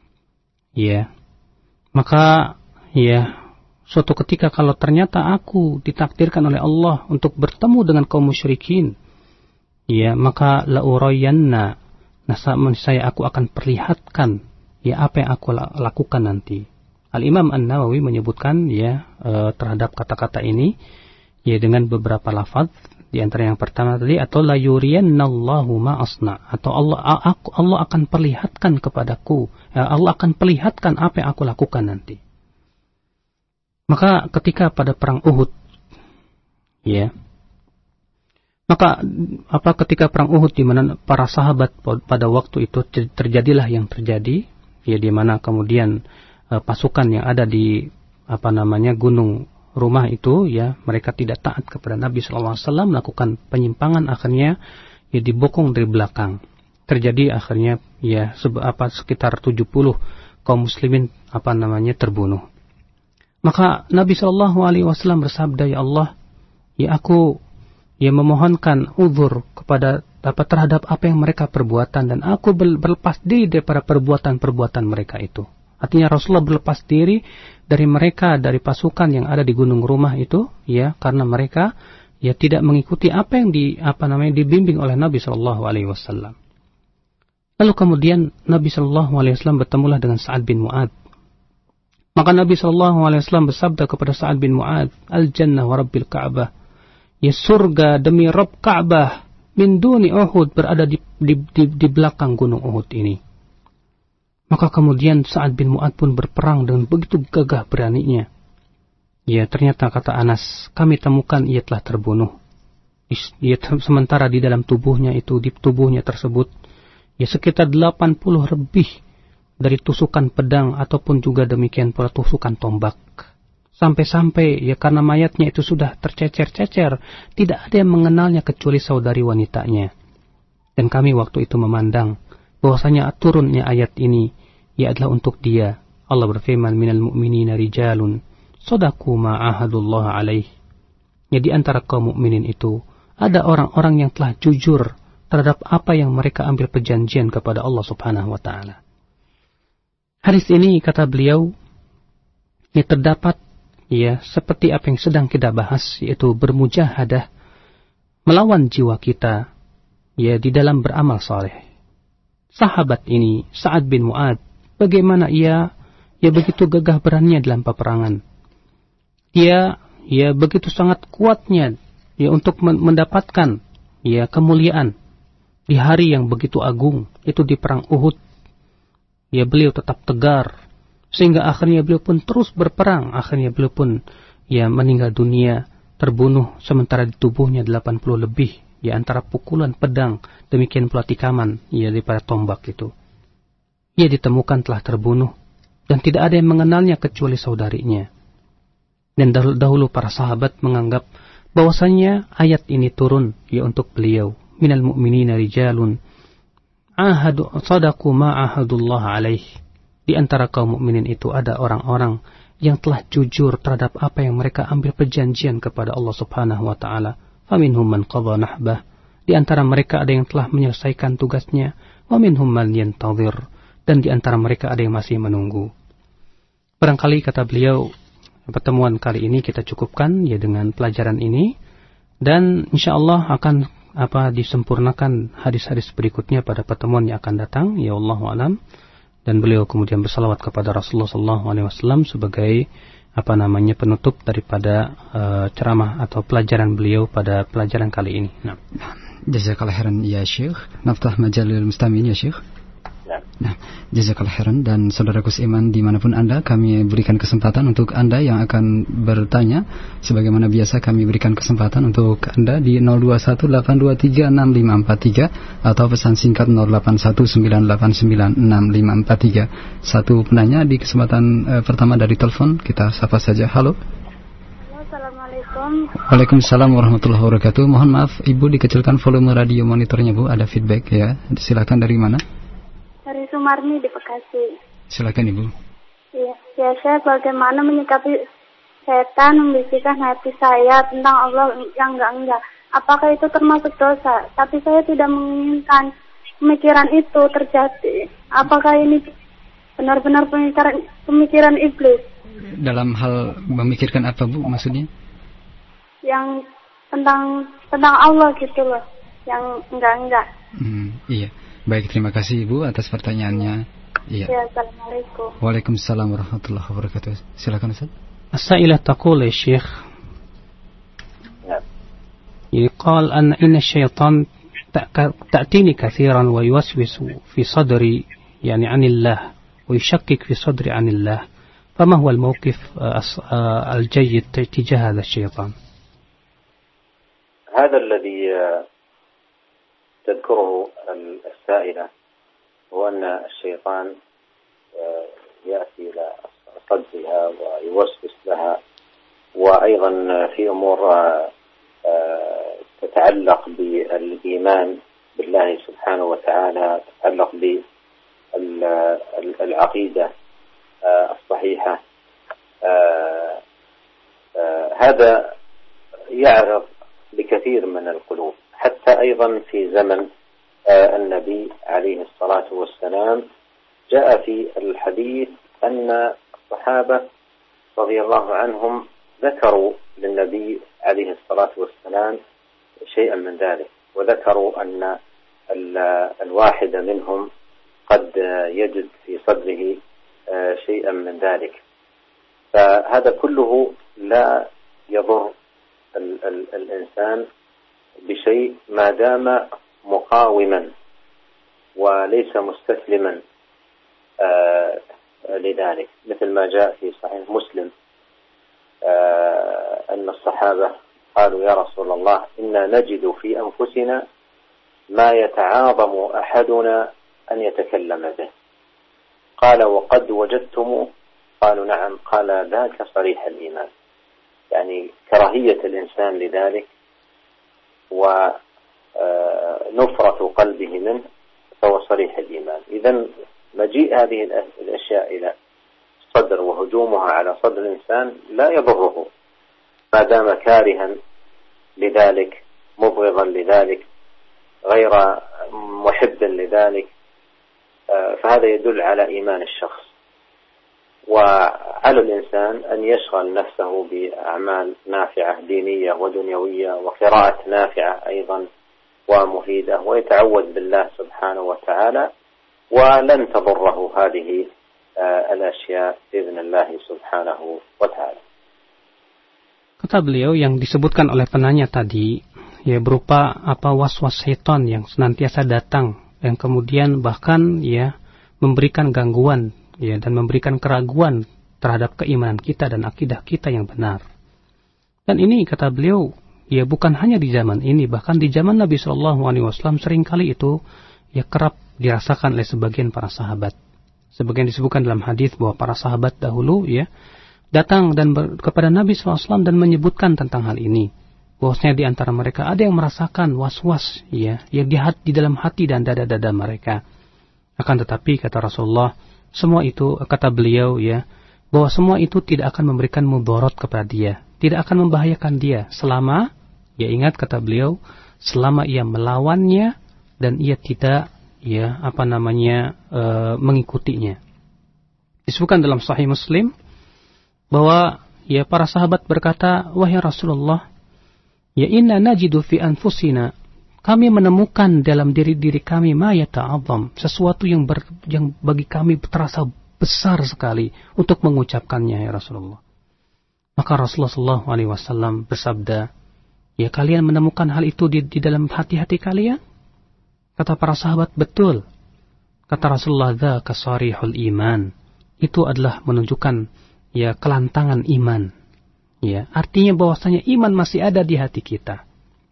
maka suatu ketika kalau ternyata aku ditakdirkan oleh Allah untuk bertemu dengan kaum musyrikin, maka la'urayanna, aku akan perlihatkan apa yang aku lakukan nanti. Al-Imam An-Nawawi menyebutkan terhadap kata-kata ini dengan beberapa lafaz, di antara yang pertama tadi, atau la yuriyannallahu ma asna, atau Allah akan perlihatkan kepadaku, Allah akan perlihatkan apa yang aku lakukan nanti. Maka ketika pada perang Uhud, ketika perang Uhud, di mana para sahabat pada waktu itu terjadilah yang terjadi, di mana kemudian pasukan yang ada di gunung rumah itu, mereka tidak taat kepada Nabi SAW, melakukan penyimpangan, akhirnya dibokong dari belakang. Terjadi akhirnya sekitar 70 kaum muslimin terbunuh. Maka Nabi SAW bersabda, ya Allah, aku memohonkan uzur kepada terhadap apa yang mereka perbuatan, dan aku berlepas diri daripada perbuatan-perbuatan mereka itu. Artinya Rasulullah berlepas diri dari mereka, dari pasukan yang ada di gunung rumah itu, karena mereka tidak mengikuti apa yang dibimbing oleh Nabi SAW. Lalu kemudian Nabi SAW bertemulah dengan Sa'ad bin Mu'adz. Maka Nabi SAW bersabda kepada Sa'ad bin Mu'adz, Al-Jannah wa Rabbil Ka'bah, surga demi Rabb Ka'bah, min duni Uhud, berada di belakang gunung Uhud ini. Maka kemudian Sa'ad bin Mu'adz pun berperang dengan begitu gagah beraninya. Ternyata kata Anas, kami temukan ia telah terbunuh. Sementara di dalam tubuhnya tersebut, sekitar 80 lebih dari tusukan pedang ataupun juga demikian pula tusukan tombak. Sampai-sampai karena mayatnya itu sudah tercecer-cecer, tidak ada yang mengenalnya kecuali saudari wanitanya. Dan kami waktu itu memandang bahwasanya turunnya ayat ini adalah untuk dia. Allah berfirman, minal mu'minina rijalun sadaqu ma ahadullah alaih Ya, di antara kaum mukminin itu ada orang-orang yang telah jujur terhadap apa yang mereka ambil perjanjian kepada Allah Subhanahu wa taala. Hadis ini kata beliau ini terdapat ya seperti apa yang sedang kita bahas, yaitu bermujahadah melawan jiwa kita ya di dalam beramal saleh. Sahabat ini Sa'ad bin Mu'adz, bagaimana ia begitu gagah beraninya dalam peperangan. Ia begitu sangat kuatnya ya untuk mendapatkan ya kemuliaan di hari yang begitu agung, itu di perang Uhud. Ya, beliau tetap tegar sehingga akhirnya beliau pun terus berperang. Akhirnya beliau pun ya meninggal dunia, terbunuh, sementara di tubuhnya 80 lebih ya antara pukulan pedang, demikian pula tikaman ya daripada tombak itu. Ia ditemukan telah terbunuh dan tidak ada yang mengenalnya kecuali saudarinya. Dan dahulu para sahabat menganggap bahwasanya ayat ini turun ya untuk beliau. Minal mu'minina rijalun sadaqu ma ahadullah alaih. Di antara kaum mukminin itu ada orang-orang yang telah jujur terhadap apa yang mereka ambil perjanjian kepada Allah Subhanahu wa taala. Faminhum man qadha nahbah. Di antara mereka ada yang telah menyelesaikan tugasnya, wa minhum man yantazir, dan di antara mereka ada yang masih menunggu. Barangkali kata beliau, pertemuan kali ini kita cukupkan ya dengan pelajaran ini, dan insyaallah akan disempurnakan hadis-hadis berikutnya pada pertemuan yang akan datang, ya Allahu a'lam. Dan beliau kemudian bersalawat kepada Rasulullah SAW sebagai penutup daripada ceramah atau pelajaran beliau pada pelajaran kali ini. Nah, jazakallahu khairan ya Syekh. Naftah majalil mustami'in ya Syekh. Nah, jazakallahu khairan. Dan saudaraku seiman dimanapun Anda, kami berikan kesempatan untuk Anda yang akan bertanya. Sebagaimana biasa kami berikan kesempatan untuk Anda di 0218236543 atau pesan singkat 0819896543. Satu penanya di kesempatan pertama dari telepon, kita sapa saja. Halo. Assalamualaikum. Waalaikumsalam warahmatullahi wabarakatuh. Mohon maaf Ibu, dikecilkan volume radio monitornya Bu, ada feedback ya. Silakan, dari mana? Dari Sumarni di Bekasi. Silakan Ibu. Iya, ya saya bagaimana menyikapi setan membisikkan hati saya tentang Allah yang enggak. Apakah itu termasuk dosa? Tapi saya tidak menginginkan pemikiran itu terjadi. Apakah ini benar-benar pemikiran iblis? Dalam hal memikirkan apa Bu maksudnya? Yang tentang Allah gitu loh. Yang enggak. Iya. Baik, terima kasih Ibu atas pertanyaannya. Iya. Ya, assalamualaikum. Waalaikumsalam warahmatullahi wabarakatuh. Silakan Ustaz. As-sa'ilah taqul ya Syekh. يقال إن الشيطان تأتيني كثيرا ويوسوس في صدري يعني عن الله ويشكك في صدري عن الله، فما هو الموقف الجيد تجاه هذا الشيطان؟ هذا الذي تذكره السائلة هو أن الشيطان يأتي إلى صدرها ويوسوس لها، وأيضا في أمور تتعلق بالإيمان بالله سبحانه وتعالى، تتعلق بالعقيدة الصحيحة. هذا يعرض لكثير من القلوب، حتى أيضا في زمن النبي عليه الصلاة والسلام جاء في الحديث أن الصحابة رضي الله عنهم ذكروا للنبي عليه الصلاة والسلام شيئا من ذلك، وذكروا أن الواحد منهم قد يجد في صدره شيئا من ذلك. فهذا كله لا يضر الإنسان بشيء ما دام مقاوما وليس مستسلما لذلك، مثل ما جاء في صحيح مسلم أن الصحابة قالوا يا رسول الله إنا نجد في أنفسنا ما يتعاظم أحدنا أن يتكلم به. قال وقد وجدتم؟ قالوا نعم. قال ذاك صريح الإيمان، يعني كراهية الإنسان لذلك ونفرة قلبه منه فهو صريح الإيمان. إذن مجيء هذه الأشياء إلى الصدر وهجومها على صدر الإنسان لا يضره ما دام كارها لذلك مبغضا لذلك غير محبا لذلك، فهذا يدل على إيمان الشخص. وعلى الإنسان أن يشغل نفسه بأعمال نافعة دينية ودنيوية وقراءة نافعة أيضا ومفيدة، ويتعوذ بالله سبحانه وتعالى، ولن تضره هذه الأشياء بإذن الله سبحانه وتعالى. Kata beliau yang disebutkan oleh penanya tadi, ya berupa was-was syaitan yang senantiasa datang, yang kemudian bahkan ya memberikan gangguan ya dan memberikan keraguan terhadap keimanan kita dan akidah kita yang benar. Dan ini kata beliau, ya bukan hanya di zaman ini, bahkan di zaman Nabi SAW seringkali itu ya kerap dirasakan oleh sebagian para sahabat. Sebagian disebutkan dalam hadis bahwa para sahabat dahulu ya datang dan kepada Nabi SAW dan menyebutkan tentang hal ini. Bahwasanya di antara mereka ada yang merasakan was-was ya yang di dalam hati dan dada-dada mereka. Akan tetapi kata Rasulullah, semua itu kata beliau ya bahwa semua itu tidak akan memberikan mudarat kepada dia, tidak akan membahayakan dia selama ya ingat kata beliau selama ia melawannya dan ia tidak ya mengikutinya. Disebutkan dalam Sahih Muslim bahwa ya para sahabat berkata, wahai Rasulullah, ya inna najidu fi anfusina, kami menemukan dalam diri-diri kami ma yata'azzam, sesuatu yang bagi kami terasa besar sekali untuk mengucapkannya ya Rasulullah. Maka Rasulullah SAW bersabda, ya kalian menemukan hal itu di dalam hati-hati kalian? Kata para sahabat, betul. Kata Rasulullah, dzaka sarihul iman, itu adalah menunjukkan ya kelantangan iman. Ya, artinya bahwasanya iman masih ada di hati kita.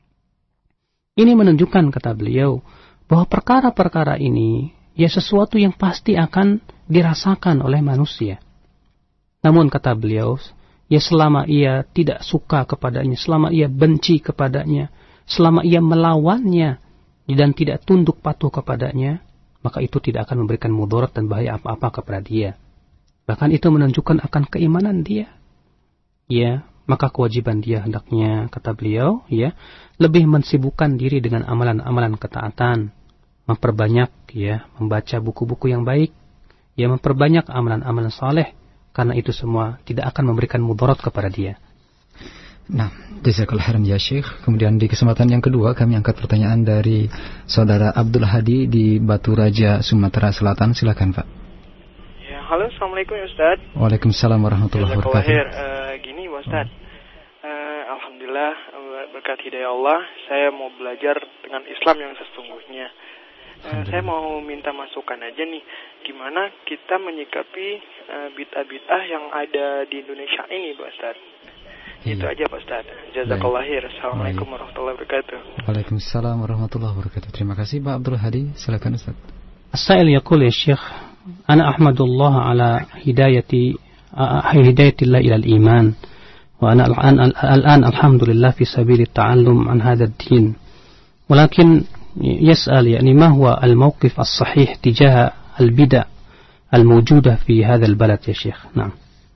Ini menunjukkan kata beliau bahwa perkara-perkara ini ya sesuatu yang pasti akan dirasakan oleh manusia. Namun kata beliau, ya selama ia tidak suka kepadanya, selama ia benci kepadanya, selama ia melawannya dan tidak tunduk patuh kepadanya, maka itu tidak akan memberikan mudarat dan bahaya apa-apa kepada dia. Bahkan itu menunjukkan akan keimanan dia. Ya, maka kewajiban dia hendaknya, kata beliau, ya, lebih mensibukkan diri dengan amalan-amalan ketaatan, memperbanyak, ya, membaca buku-buku yang baik, ya, memperbanyak amalan-amalan saleh, karena itu semua tidak akan memberikan mudarat kepada dia. Nah, jazakallahu khairan ya Syekh. Kemudian di kesempatan yang kedua kami angkat pertanyaan dari saudara Abdul Hadi di Batu Raja, Sumatera Selatan. Silakan Pak. Ya, halo, assalamualaikum ya Ustaz. Waalaikumsalam warahmatullahi wabarakatuh. Gini Ustaz, alhamdulillah berkat hidayah Allah, saya mau belajar dengan Islam yang sesungguhnya. Saya mau minta masukan aja nih, gimana kita menyikapi bid'ah-bid'ah yang ada di Indonesia ini Pak Ustaz. Itu aja Pak Ustaz. Jazakallah khair. Assalamualaikum warahmatullahi wabarakatuh. Waalaikumsalam warahmatullahi wabarakatuh. Terima kasih Pak Abdul Hadi. Silakan Ustaz. As-sa'il yaqul ya Syekh, ana ahmadullah ala hidayatillah ila al-iman wa ana al-an alhamdulillah fi sabil at-ta'allum an hadha ad-din. Walakin yas'al yani ma huwa al-mawqif as-sahih tijaha al-bid'ah al-mawjudah fi hadha al-balad ya Syekh. Naam.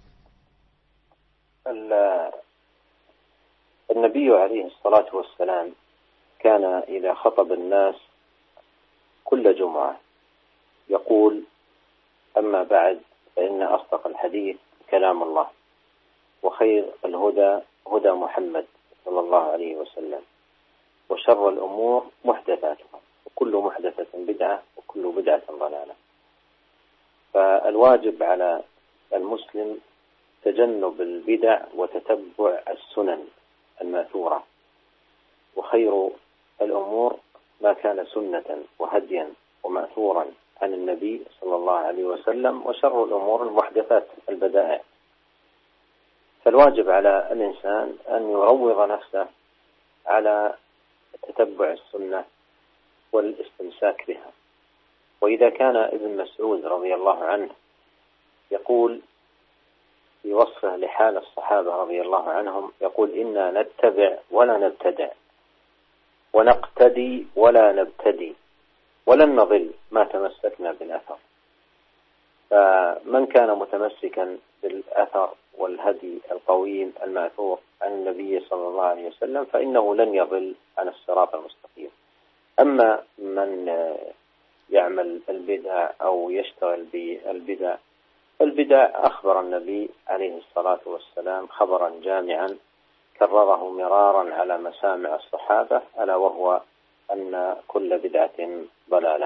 النبي عليه الصلاة والسلام كان إذا خطب الناس كل جمعة يقول أما بعد فإن أصدق الحديث كلام الله وخير الهدى هدى محمد صلى الله عليه وسلم وشر الأمور محدثاتها وكل محدثة بدعة وكل بدعة ضلالة. فالواجب على المسلم تجنب البدع وتتبع السنن الماثورة، وخير الأمور ما كان سنة وهديا ومأثورا عن النبي صلى الله عليه وسلم، وشر الأمور المحدثات البدائع. فالواجب على الإنسان أن يروض نفسه على تتبع السنة والاستمساك بها. وإذا كان ابن مسعود رضي الله عنه يقول في وصفه لحال الصحابة رضي الله عنهم، يقول إنا نتبع ولا نبتدع ونقتدي ولا نبتدي ولن نضل ما تمسكنا بالأثر. فمن كان متمسكا بالأثر والهدي القويم المأثور عن النبي صلى الله عليه وسلم فإنه لن يضل عن الصراط المستقيم. أما من يعمل البدع أو يشتغل بالبدع، البدع أخبر النبي عليه الصلاة والسلام خبرا جامعا كرره مرارا على مسامع الصحابة، ألا وهو أن كل بدعة ضلالة.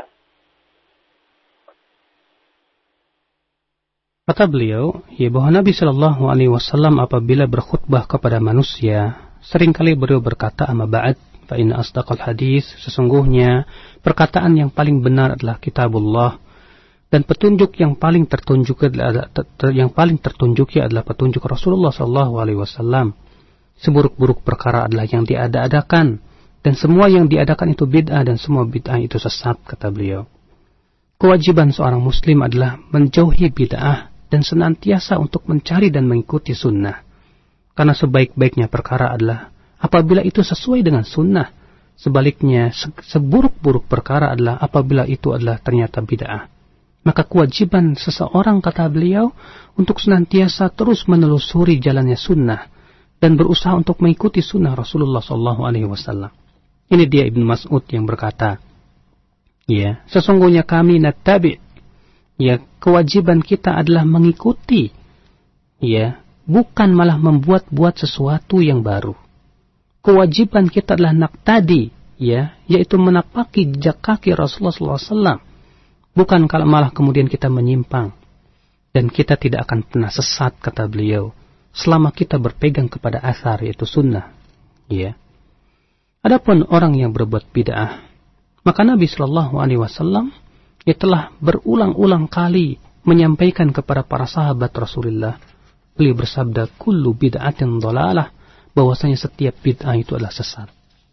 Kata beliau, ya bahwa Nabi Shallallahu Alaihi Wasallam apabila berkhutbah kepada manusia, seringkali beliau berkata, "Amma ba'd, fa inna asdaqal hadis." Sesungguhnya perkataan yang paling benar adalah Kitabullah, dan petunjuk yang paling tertunjuk adalah petunjuk Rasulullah Shallallahu Alaihi Wasallam. Seburuk-buruk perkara adalah yang diada-adakan, dan semua yang diadakan itu bid'ah, dan semua bid'ah itu sesat, kata beliau. Kewajiban seorang muslim adalah menjauhi bid'ah dan senantiasa untuk mencari dan mengikuti sunnah. Karena sebaik-baiknya perkara adalah apabila itu sesuai dengan sunnah. Sebaliknya, seburuk-buruk perkara adalah apabila itu adalah ternyata bid'ah. Maka kewajiban seseorang, kata beliau, untuk senantiasa terus menelusuri jalannya sunnah dan berusaha untuk mengikuti sunnah Rasulullah SAW. Ini dia Ibnu Mas'ud yang berkata, ya, sesungguhnya kami nattabi'. Ya, kewajiban kita adalah mengikuti, ya, bukan malah membuat-buat sesuatu yang baru. Kewajiban kita adalah naqtadi, ya, yaitu menapaki jejak kaki Rasulullah SAW. Bukan kalau malah kemudian kita menyimpang. Dan kita tidak akan pernah sesat, kata beliau, selama kita berpegang kepada asar, yaitu sunnah. Ya. Adapun orang yang berbuat bid'ah, maka Nabi SAW ia telah berulang-ulang kali menyampaikan kepada para sahabat Rasulullah. Beliau bersabda, kullu bid'atin dhalalah, bahwasanya setiap bid'ah itu adalah sesat.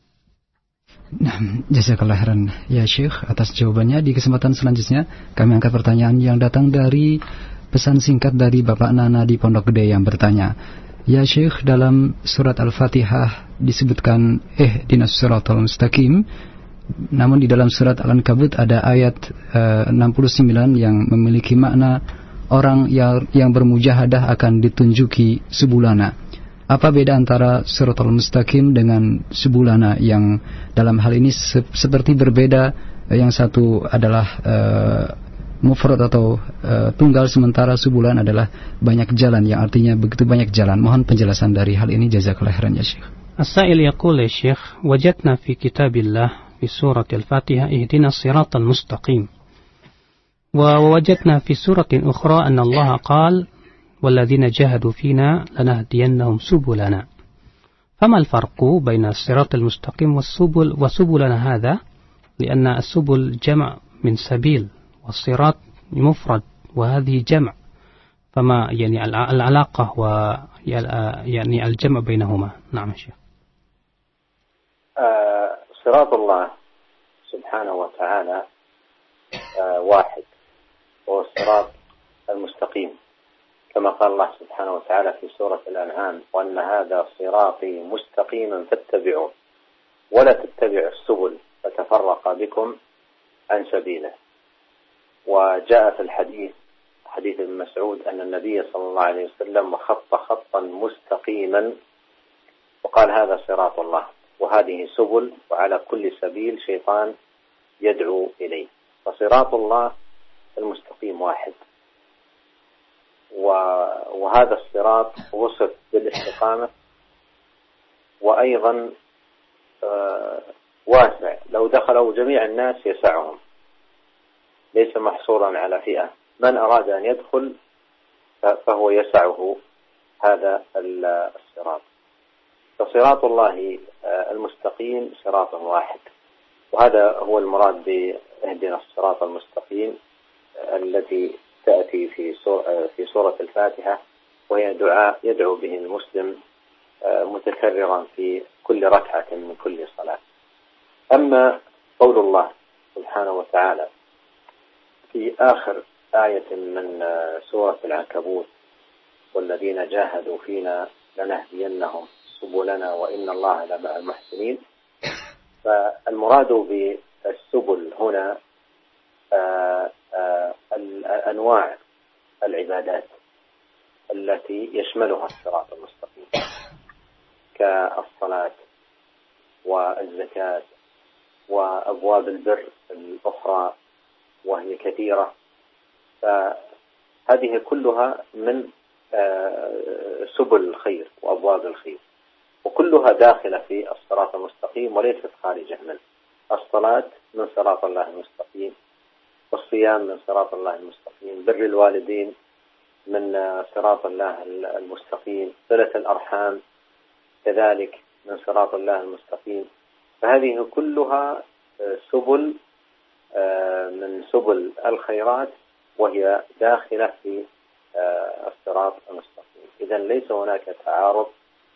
Nah, jazakallah khairan ya Syekh atas jawabannya. Di kesempatan selanjutnya kami angkat pertanyaan yang datang dari pesan singkat dari Bapak Nana di Pondok Gede yang bertanya, ya Syekh, dalam surat Al-Fatihah disebutkan ihdinas siratal mustaqim. Namun di dalam surat Al-Ankabut ada ayat 69 yang memiliki makna orang yang bermujahadah akan ditunjuki subulana. Apa beda antara siratal mustaqim dengan subulana yang dalam hal ini seperti berbeda? Yang satu adalah mufrad atau tunggal, sementara subulan adalah banyak jalan, yang artinya begitu banyak jalan. Mohon penjelasan dari hal ini, jazakallahu khairan ya Syekh. As-sa'il yaqul ya Syekh, wajadna fi kitabillah في سورة الفاتحة اهدنا الصراط المستقيم، ووجدنا في سورة أخرى أن الله قال والذين جاهدوا فينا لنهدينهم سبلنا. فما الفرق بين الصراط المستقيم وسبلنا هذا؟ لأن السبل جمع من سبيل والصراط مفرد وهذه جمع، فما يعني العلاقة يعني الجمع بينهما؟ نعم شيخ. صراط الله سبحانه وتعالى واحد، هو الصراط المستقيم، كما قال الله سبحانه وتعالى في سورة الأنعام، وأن هذا صراطي مستقيما فاتبعوه ولا تتبعوا السبل فتفرق بكم عن سبيله. وجاء في حديث ابن مسعود أن النبي صلى الله عليه وسلم خط خطا مستقيما وقال هذا صراط الله، وهذه سبل، وعلى كل سبيل شيطان يدعو إليه. فصراط الله المستقيم واحد، وهذا الصراط وصف بالاستقامة، وأيضا واسع، لو دخلوا جميع الناس يسعهم، ليس محصورا على فئة، من أراد أن يدخل فهو يسعه هذا الصراط. فصراط الله المستقيم صراط واحد، وهذا هو المراد باهدنا الصراط المستقيم التي تأتي في سورة الفاتحة، وهي دعاء يدعو به المسلم متكررا في كل ركعة من كل صلاة. أما قول الله سبحانه وتعالى في آخر آية من سورة العنكبوت، والذين جاهدوا فينا لنهدينهم سبلنا وإن الله لمع المحسنين، فالمراد بالسبل هنا الأنواع العبادات التي يشملها الصراط المستقيم كالصلاة والزكاة وأبواب البر الأخرى وهي كثيرة، فهذه كلها من سبل الخير وأبواب الخير، وكلها داخلة في الصراط المستقيم وليست خارجة منه. الصلاة من صراط الله المستقيم، والصيام من صراط الله المستقيم، بر الوالدين من صراط الله المستقيم، صلة الأرحام كذلك من صراط الله المستقيم. فهذه كلها سبل من سبل الخيرات وهي داخلة في الصراط المستقيم. إذن ليس هناك تعارض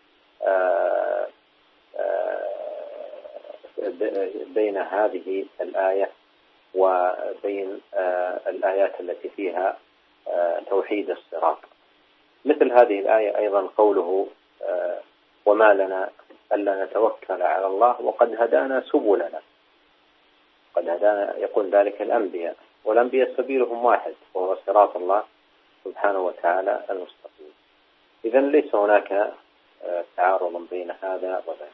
بين هذه الآية وبين الآيات التي فيها توحيد الصراط. مثل هذه الآية أيضا قوله وما لنا ألا نتوكل على الله وقد هدانا سبلنا. قد هدانا يقول ذلك الأنبياء، والأنبياء سبيلهم واحد وهو صراط الله سبحانه وتعالى المستقيم. إذن ليس هناك تعارض بين هذا وذاك.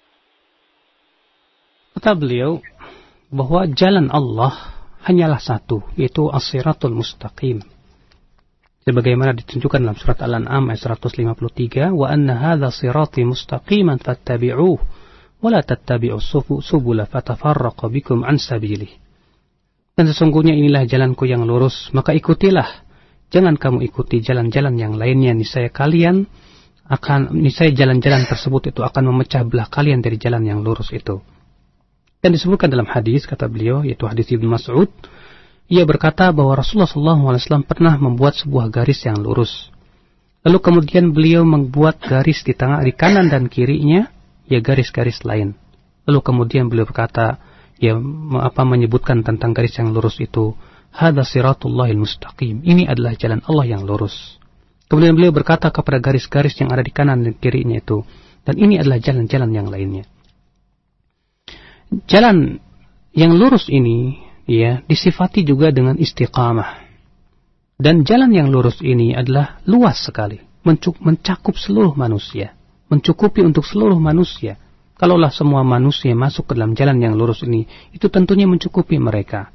Kata beliau bahwa jalan Allah hanyalah satu, yaitu as-siratul mustaqim. Sebagaimana ditunjukkan dalam surat Al-An'am ayat 153, wa anna hadza sirati mustaqiman fattabi'uhu wa la tattabi'us subula fatafarraqu bikum an sabilih. Dan sesungguhnya inilah jalanku yang lurus, maka ikutilah. Jangan kamu ikuti jalan-jalan yang lainnya, niscaya jalan-jalan tersebut itu akan memecah belah kalian dari jalan yang lurus itu. Dan disebutkan dalam hadis, kata beliau, yaitu hadis Ibnu Mas'ud, ia berkata bahwa Rasulullah SAW pernah membuat sebuah garis yang lurus. Lalu kemudian beliau membuat garis di kanan dan kirinya, ya garis-garis lain. Lalu kemudian beliau berkata, ya menyebutkan tentang garis yang lurus itu, hadza siratullahil mustaqim. Ini adalah jalan Allah yang lurus. Kemudian beliau berkata kepada garis-garis yang ada di kanan dan kirinya itu, dan ini adalah jalan-jalan yang lainnya. Jalan yang lurus ini ya disifati juga dengan istiqamah. Dan jalan yang lurus ini adalah luas sekali, mencakup seluruh manusia, mencukupi untuk seluruh manusia. Kalaulah semua manusia masuk ke dalam jalan yang lurus ini, itu tentunya mencukupi mereka.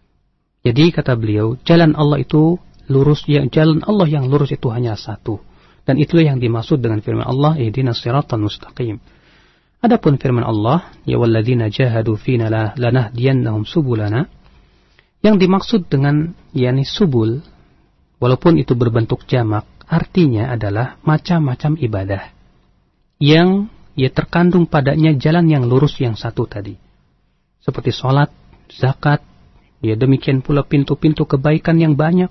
Jadi kata beliau, jalan Allah itu lurus, ya jalan Allah yang lurus itu hanya satu. Dan itulah yang dimaksud dengan firman Allah, ihdinas siratal mustaqim. Adapun firman Allah, ya walladzina jahadu fina lanahdiyannahum subulana, yang dimaksud dengan yakni subul, walaupun itu berbentuk jamak, artinya adalah macam-macam ibadah yang ya terkandung padanya jalan yang lurus yang satu tadi. Seperti sholat, zakat, ya demikian pula pintu-pintu kebaikan yang banyak.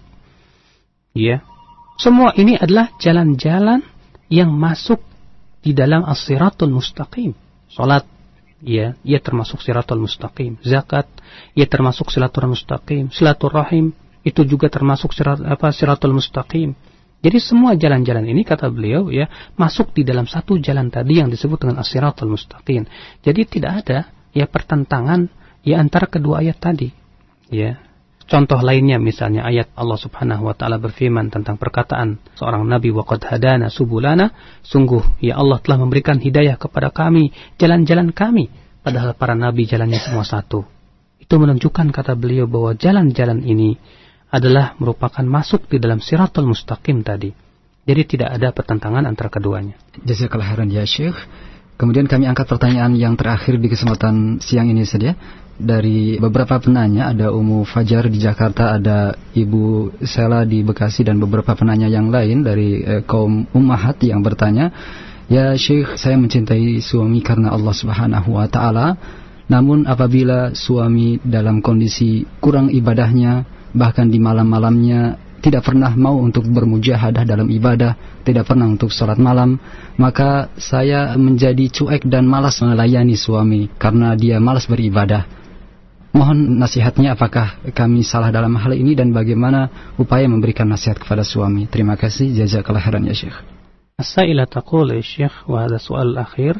Ya. Semua ini adalah jalan-jalan yang masuk di dalam as-siratul mustaqim. Salat, ya, ia termasuk siratul mustaqim. Zakat, ia termasuk siratul mustaqim. Silaturahim, itu juga termasuk siratul mustaqim. Jadi semua jalan-jalan ini kata beliau ya masuk di dalam satu jalan tadi yang disebut dengan as-siratul mustaqim. Jadi tidak ada ya pertentangan ya antara kedua ayat tadi. Ya. Contoh lainnya misalnya ayat Allah Subhanahu wa taala berfirman tentang perkataan seorang nabi, wa qad hadana subulana, sungguh ya Allah telah memberikan hidayah kepada kami jalan-jalan kami, padahal para nabi jalannya semua satu. Itu menunjukkan kata beliau bahwa jalan-jalan ini adalah merupakan masuk di dalam siratul mustaqim tadi. Jadi tidak ada pertentangan antara keduanya. Jazakallahu khairan ya Syekh. Kemudian kami angkat pertanyaan yang terakhir di kesempatan siang ini saja. Dari beberapa penanya, ada Umu Fajar di Jakarta, ada Ibu Sela di Bekasi, dan beberapa penanya yang lain dari kaum ummahat yang bertanya, ya Syekh, saya mencintai suami karena Allah Subhanahu wa taala, namun apabila suami dalam kondisi kurang ibadahnya, bahkan di malam-malamnya tidak pernah mau untuk bermujahadah dalam ibadah, tidak pernah untuk sholat malam, maka saya menjadi cuek dan malas melayani suami karena dia malas beribadah. Mohon nasihatnya, apakah kami salah dalam hal ini dan bagaimana upaya memberikan nasihat kepada suami? Terima kasih, jazakallahu khairan ya Syekh. As-saila taqul ya Syekh, wa hadha su'al akhir,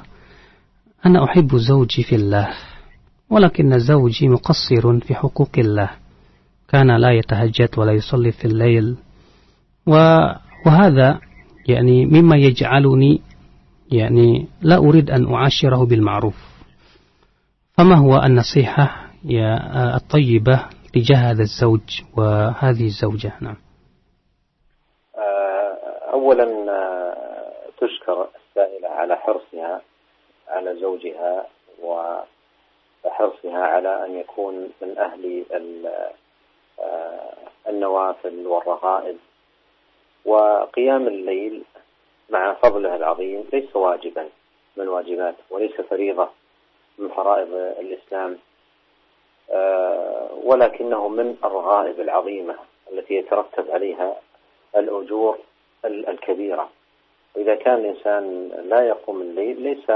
ana uhibbu zawji fillah, walakinna zawji muqassirun fi huquqillah. Kana la yatahajjad wa la yusalli fil lail وهذا يعني مما يجعلني يعني لا أريد أن أعاشره بالمعروف. فما هو النصيحة الطيبة تجاه هذا الزوج وهذه الزوجة؟ نعم. أولا تشكر السائلة على حرصها على زوجها وحرصها على أن يكون من أهل النوافل والرغائب. وقيام الليل مع فضله العظيم ليس واجبا من واجبات وليس فريضة من فرائض الإسلام، ولكنه من الرغائب العظيمة التي يترتب عليها الأجور الكبيرة. وإذا كان الإنسان لا يقوم الليل ليس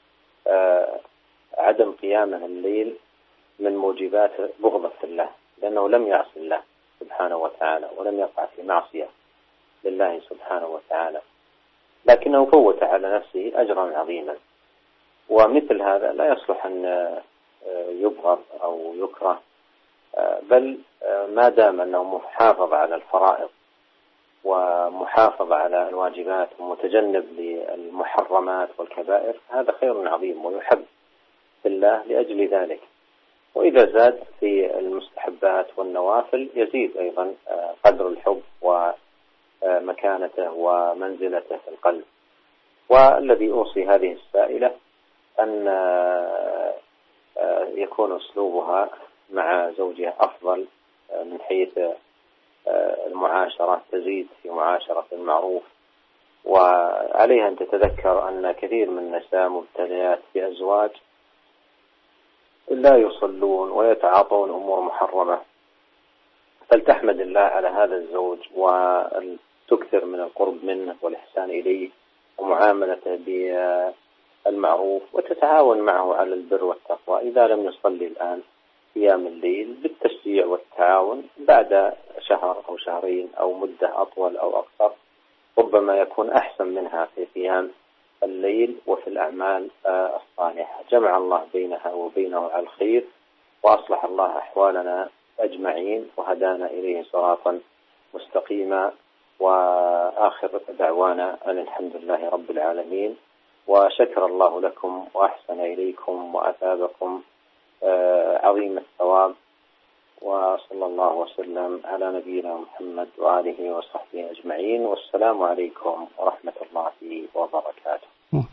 عدم قيامه الليل من موجبات بغضة الله، لأنه لم يعصي الله سبحانه وتعالى ولم يقع في معصية لله سبحانه وتعالى، لكنه فوت على نفسه أجرا عظيما. ومثل هذا لا يصلح أن يبغض أو يكره، بل ما دام أنه محافظ على الفرائض ومحافظ على الواجبات ومتجنب للمحرمات والكبائر، هذا خير عظيم ويحب في الله لأجل ذلك. وإذا زاد في المستحبات والنوافل يزيد أيضا قدر الحب ومكانته ومنزلته في القلب. والذي أوصي هذه السائلة أن يكون أسلوبها مع زوجها أفضل من حيث المعاشرة، تزيد في معاشرة المعروف. وعليها أن تتذكر أن كثير من النساء مبتليات بأزواج لا يصلون ويتعاطون أمور محرمة، فلتحمد الله على هذا الزوج وتكثر من القرب منه والإحسان إليه ومعاملته بالمعروف، وتتعاون معه على البر والتقوى. إذا لم يصلي الآن قيام الليل بالتشجيع والتعاون بعد شهر أو شهرين أو مدة أطول أو أقصر ربما يكون أحسن منها في قيام الليل وفي الأعمال الصالحة. جمع الله بينها وبينه على الخير، وأصلح الله أحوالنا أجمعين وهدانا إليه صراطا مستقيما. وآخر دعوانا أن الحمد لله رب العالمين، وشكر الله لكم وأحسن إليكم وأثابكم عظيم الثواب، وصلى الله وسلم على نبينا محمد وآله وصحبه أجمعين، والسلام عليكم ورحمة الله وبركاته.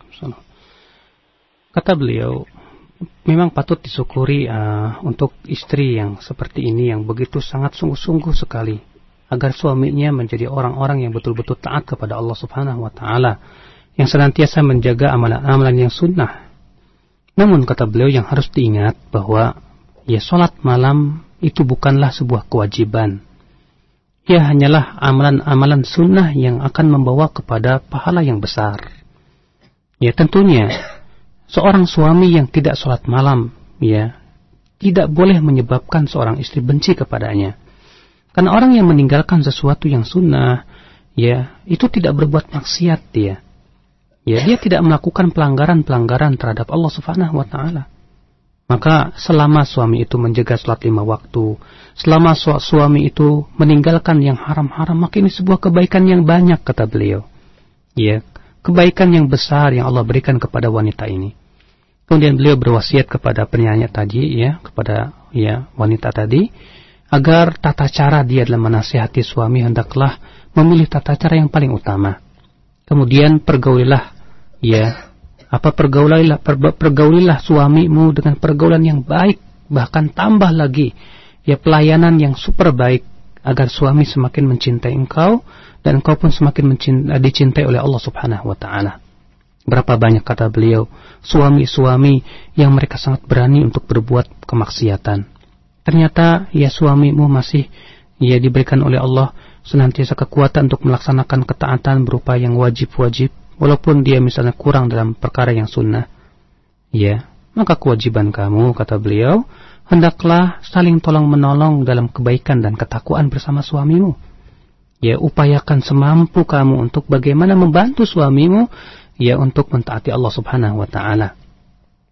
Kata beliau, memang patut disyukuri untuk istri yang seperti ini, yang begitu sangat sungguh-sungguh sekali agar suaminya menjadi orang-orang yang betul-betul taat kepada Allah Subhanahu wa Ta'ala, yang senantiasa menjaga amalan-amalan yang sunnah. Namun kata beliau, yang harus diingat bahwa salat malam itu bukanlah sebuah kewajiban. Ia hanyalah amalan-amalan sunnah yang akan membawa kepada pahala yang besar. Tentunya seorang suami yang tidak salat malam tidak boleh menyebabkan seorang istri benci kepadanya. Karena orang yang meninggalkan sesuatu yang sunnah, itu tidak berbuat maksiat dia. Dia tidak melakukan pelanggaran-pelanggaran terhadap Allah Subhanahu wa Ta'ala. Maka selama suami itu menjaga salat 5 waktu, selama suami itu meninggalkan yang haram-haram, maka ini sebuah kebaikan yang banyak, kata beliau. Kebaikan yang besar yang Allah berikan kepada wanita ini. Kemudian beliau berwasiat kepada penyanyi tadi, kepada wanita tadi, agar tata cara dia dalam menasihati suami hendaklah memilih tata cara yang paling utama. Kemudian pergaulilah suamimu dengan pergaulan yang baik, bahkan tambah lagi pelayanan yang super baik, agar suami semakin mencintai engkau dan engkau pun semakin dicintai oleh Allah Subhanahu wa Ta'ala. Berapa banyak, kata beliau, suami-suami yang mereka sangat berani untuk berbuat kemaksiatan. Ternyata suamimu masih diberikan oleh Allah senantiasa kekuatan untuk melaksanakan ketaatan berupa yang wajib-wajib, walaupun dia misalnya kurang dalam perkara yang sunnah. Maka kewajiban kamu, kata beliau, hendaklah saling tolong-menolong dalam kebaikan dan ketakwaan bersama suamimu. Upayakan semampu kamu untuk bagaimana membantu suamimu untuk mentaati Allah Subhanahu wa Ta'ala.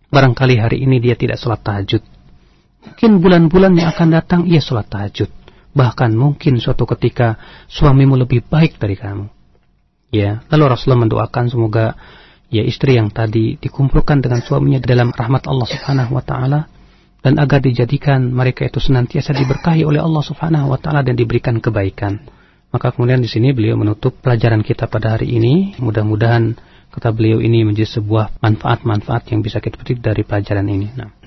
Barangkali hari ini dia tidak salat tahajud, mungkin bulan-bulan yang akan datang ia salat tahajud. Bahkan mungkin suatu ketika suamimu lebih baik dari kamu. Ya, lalu Rasulullah mendoakan semoga ya istri yang tadi dikumpulkan dengan suaminya dalam rahmat Allah Subhanahu wa taala, dan agar dijadikan mereka itu senantiasa diberkahi oleh Allah Subhanahu wa taala dan diberikan kebaikan. Maka kemudian di sini beliau menutup pelajaran kita pada hari ini. Mudah-mudahan kata beliau ini menjadi sebuah manfaat-manfaat yang bisa kita petik dari pelajaran ini. Nah.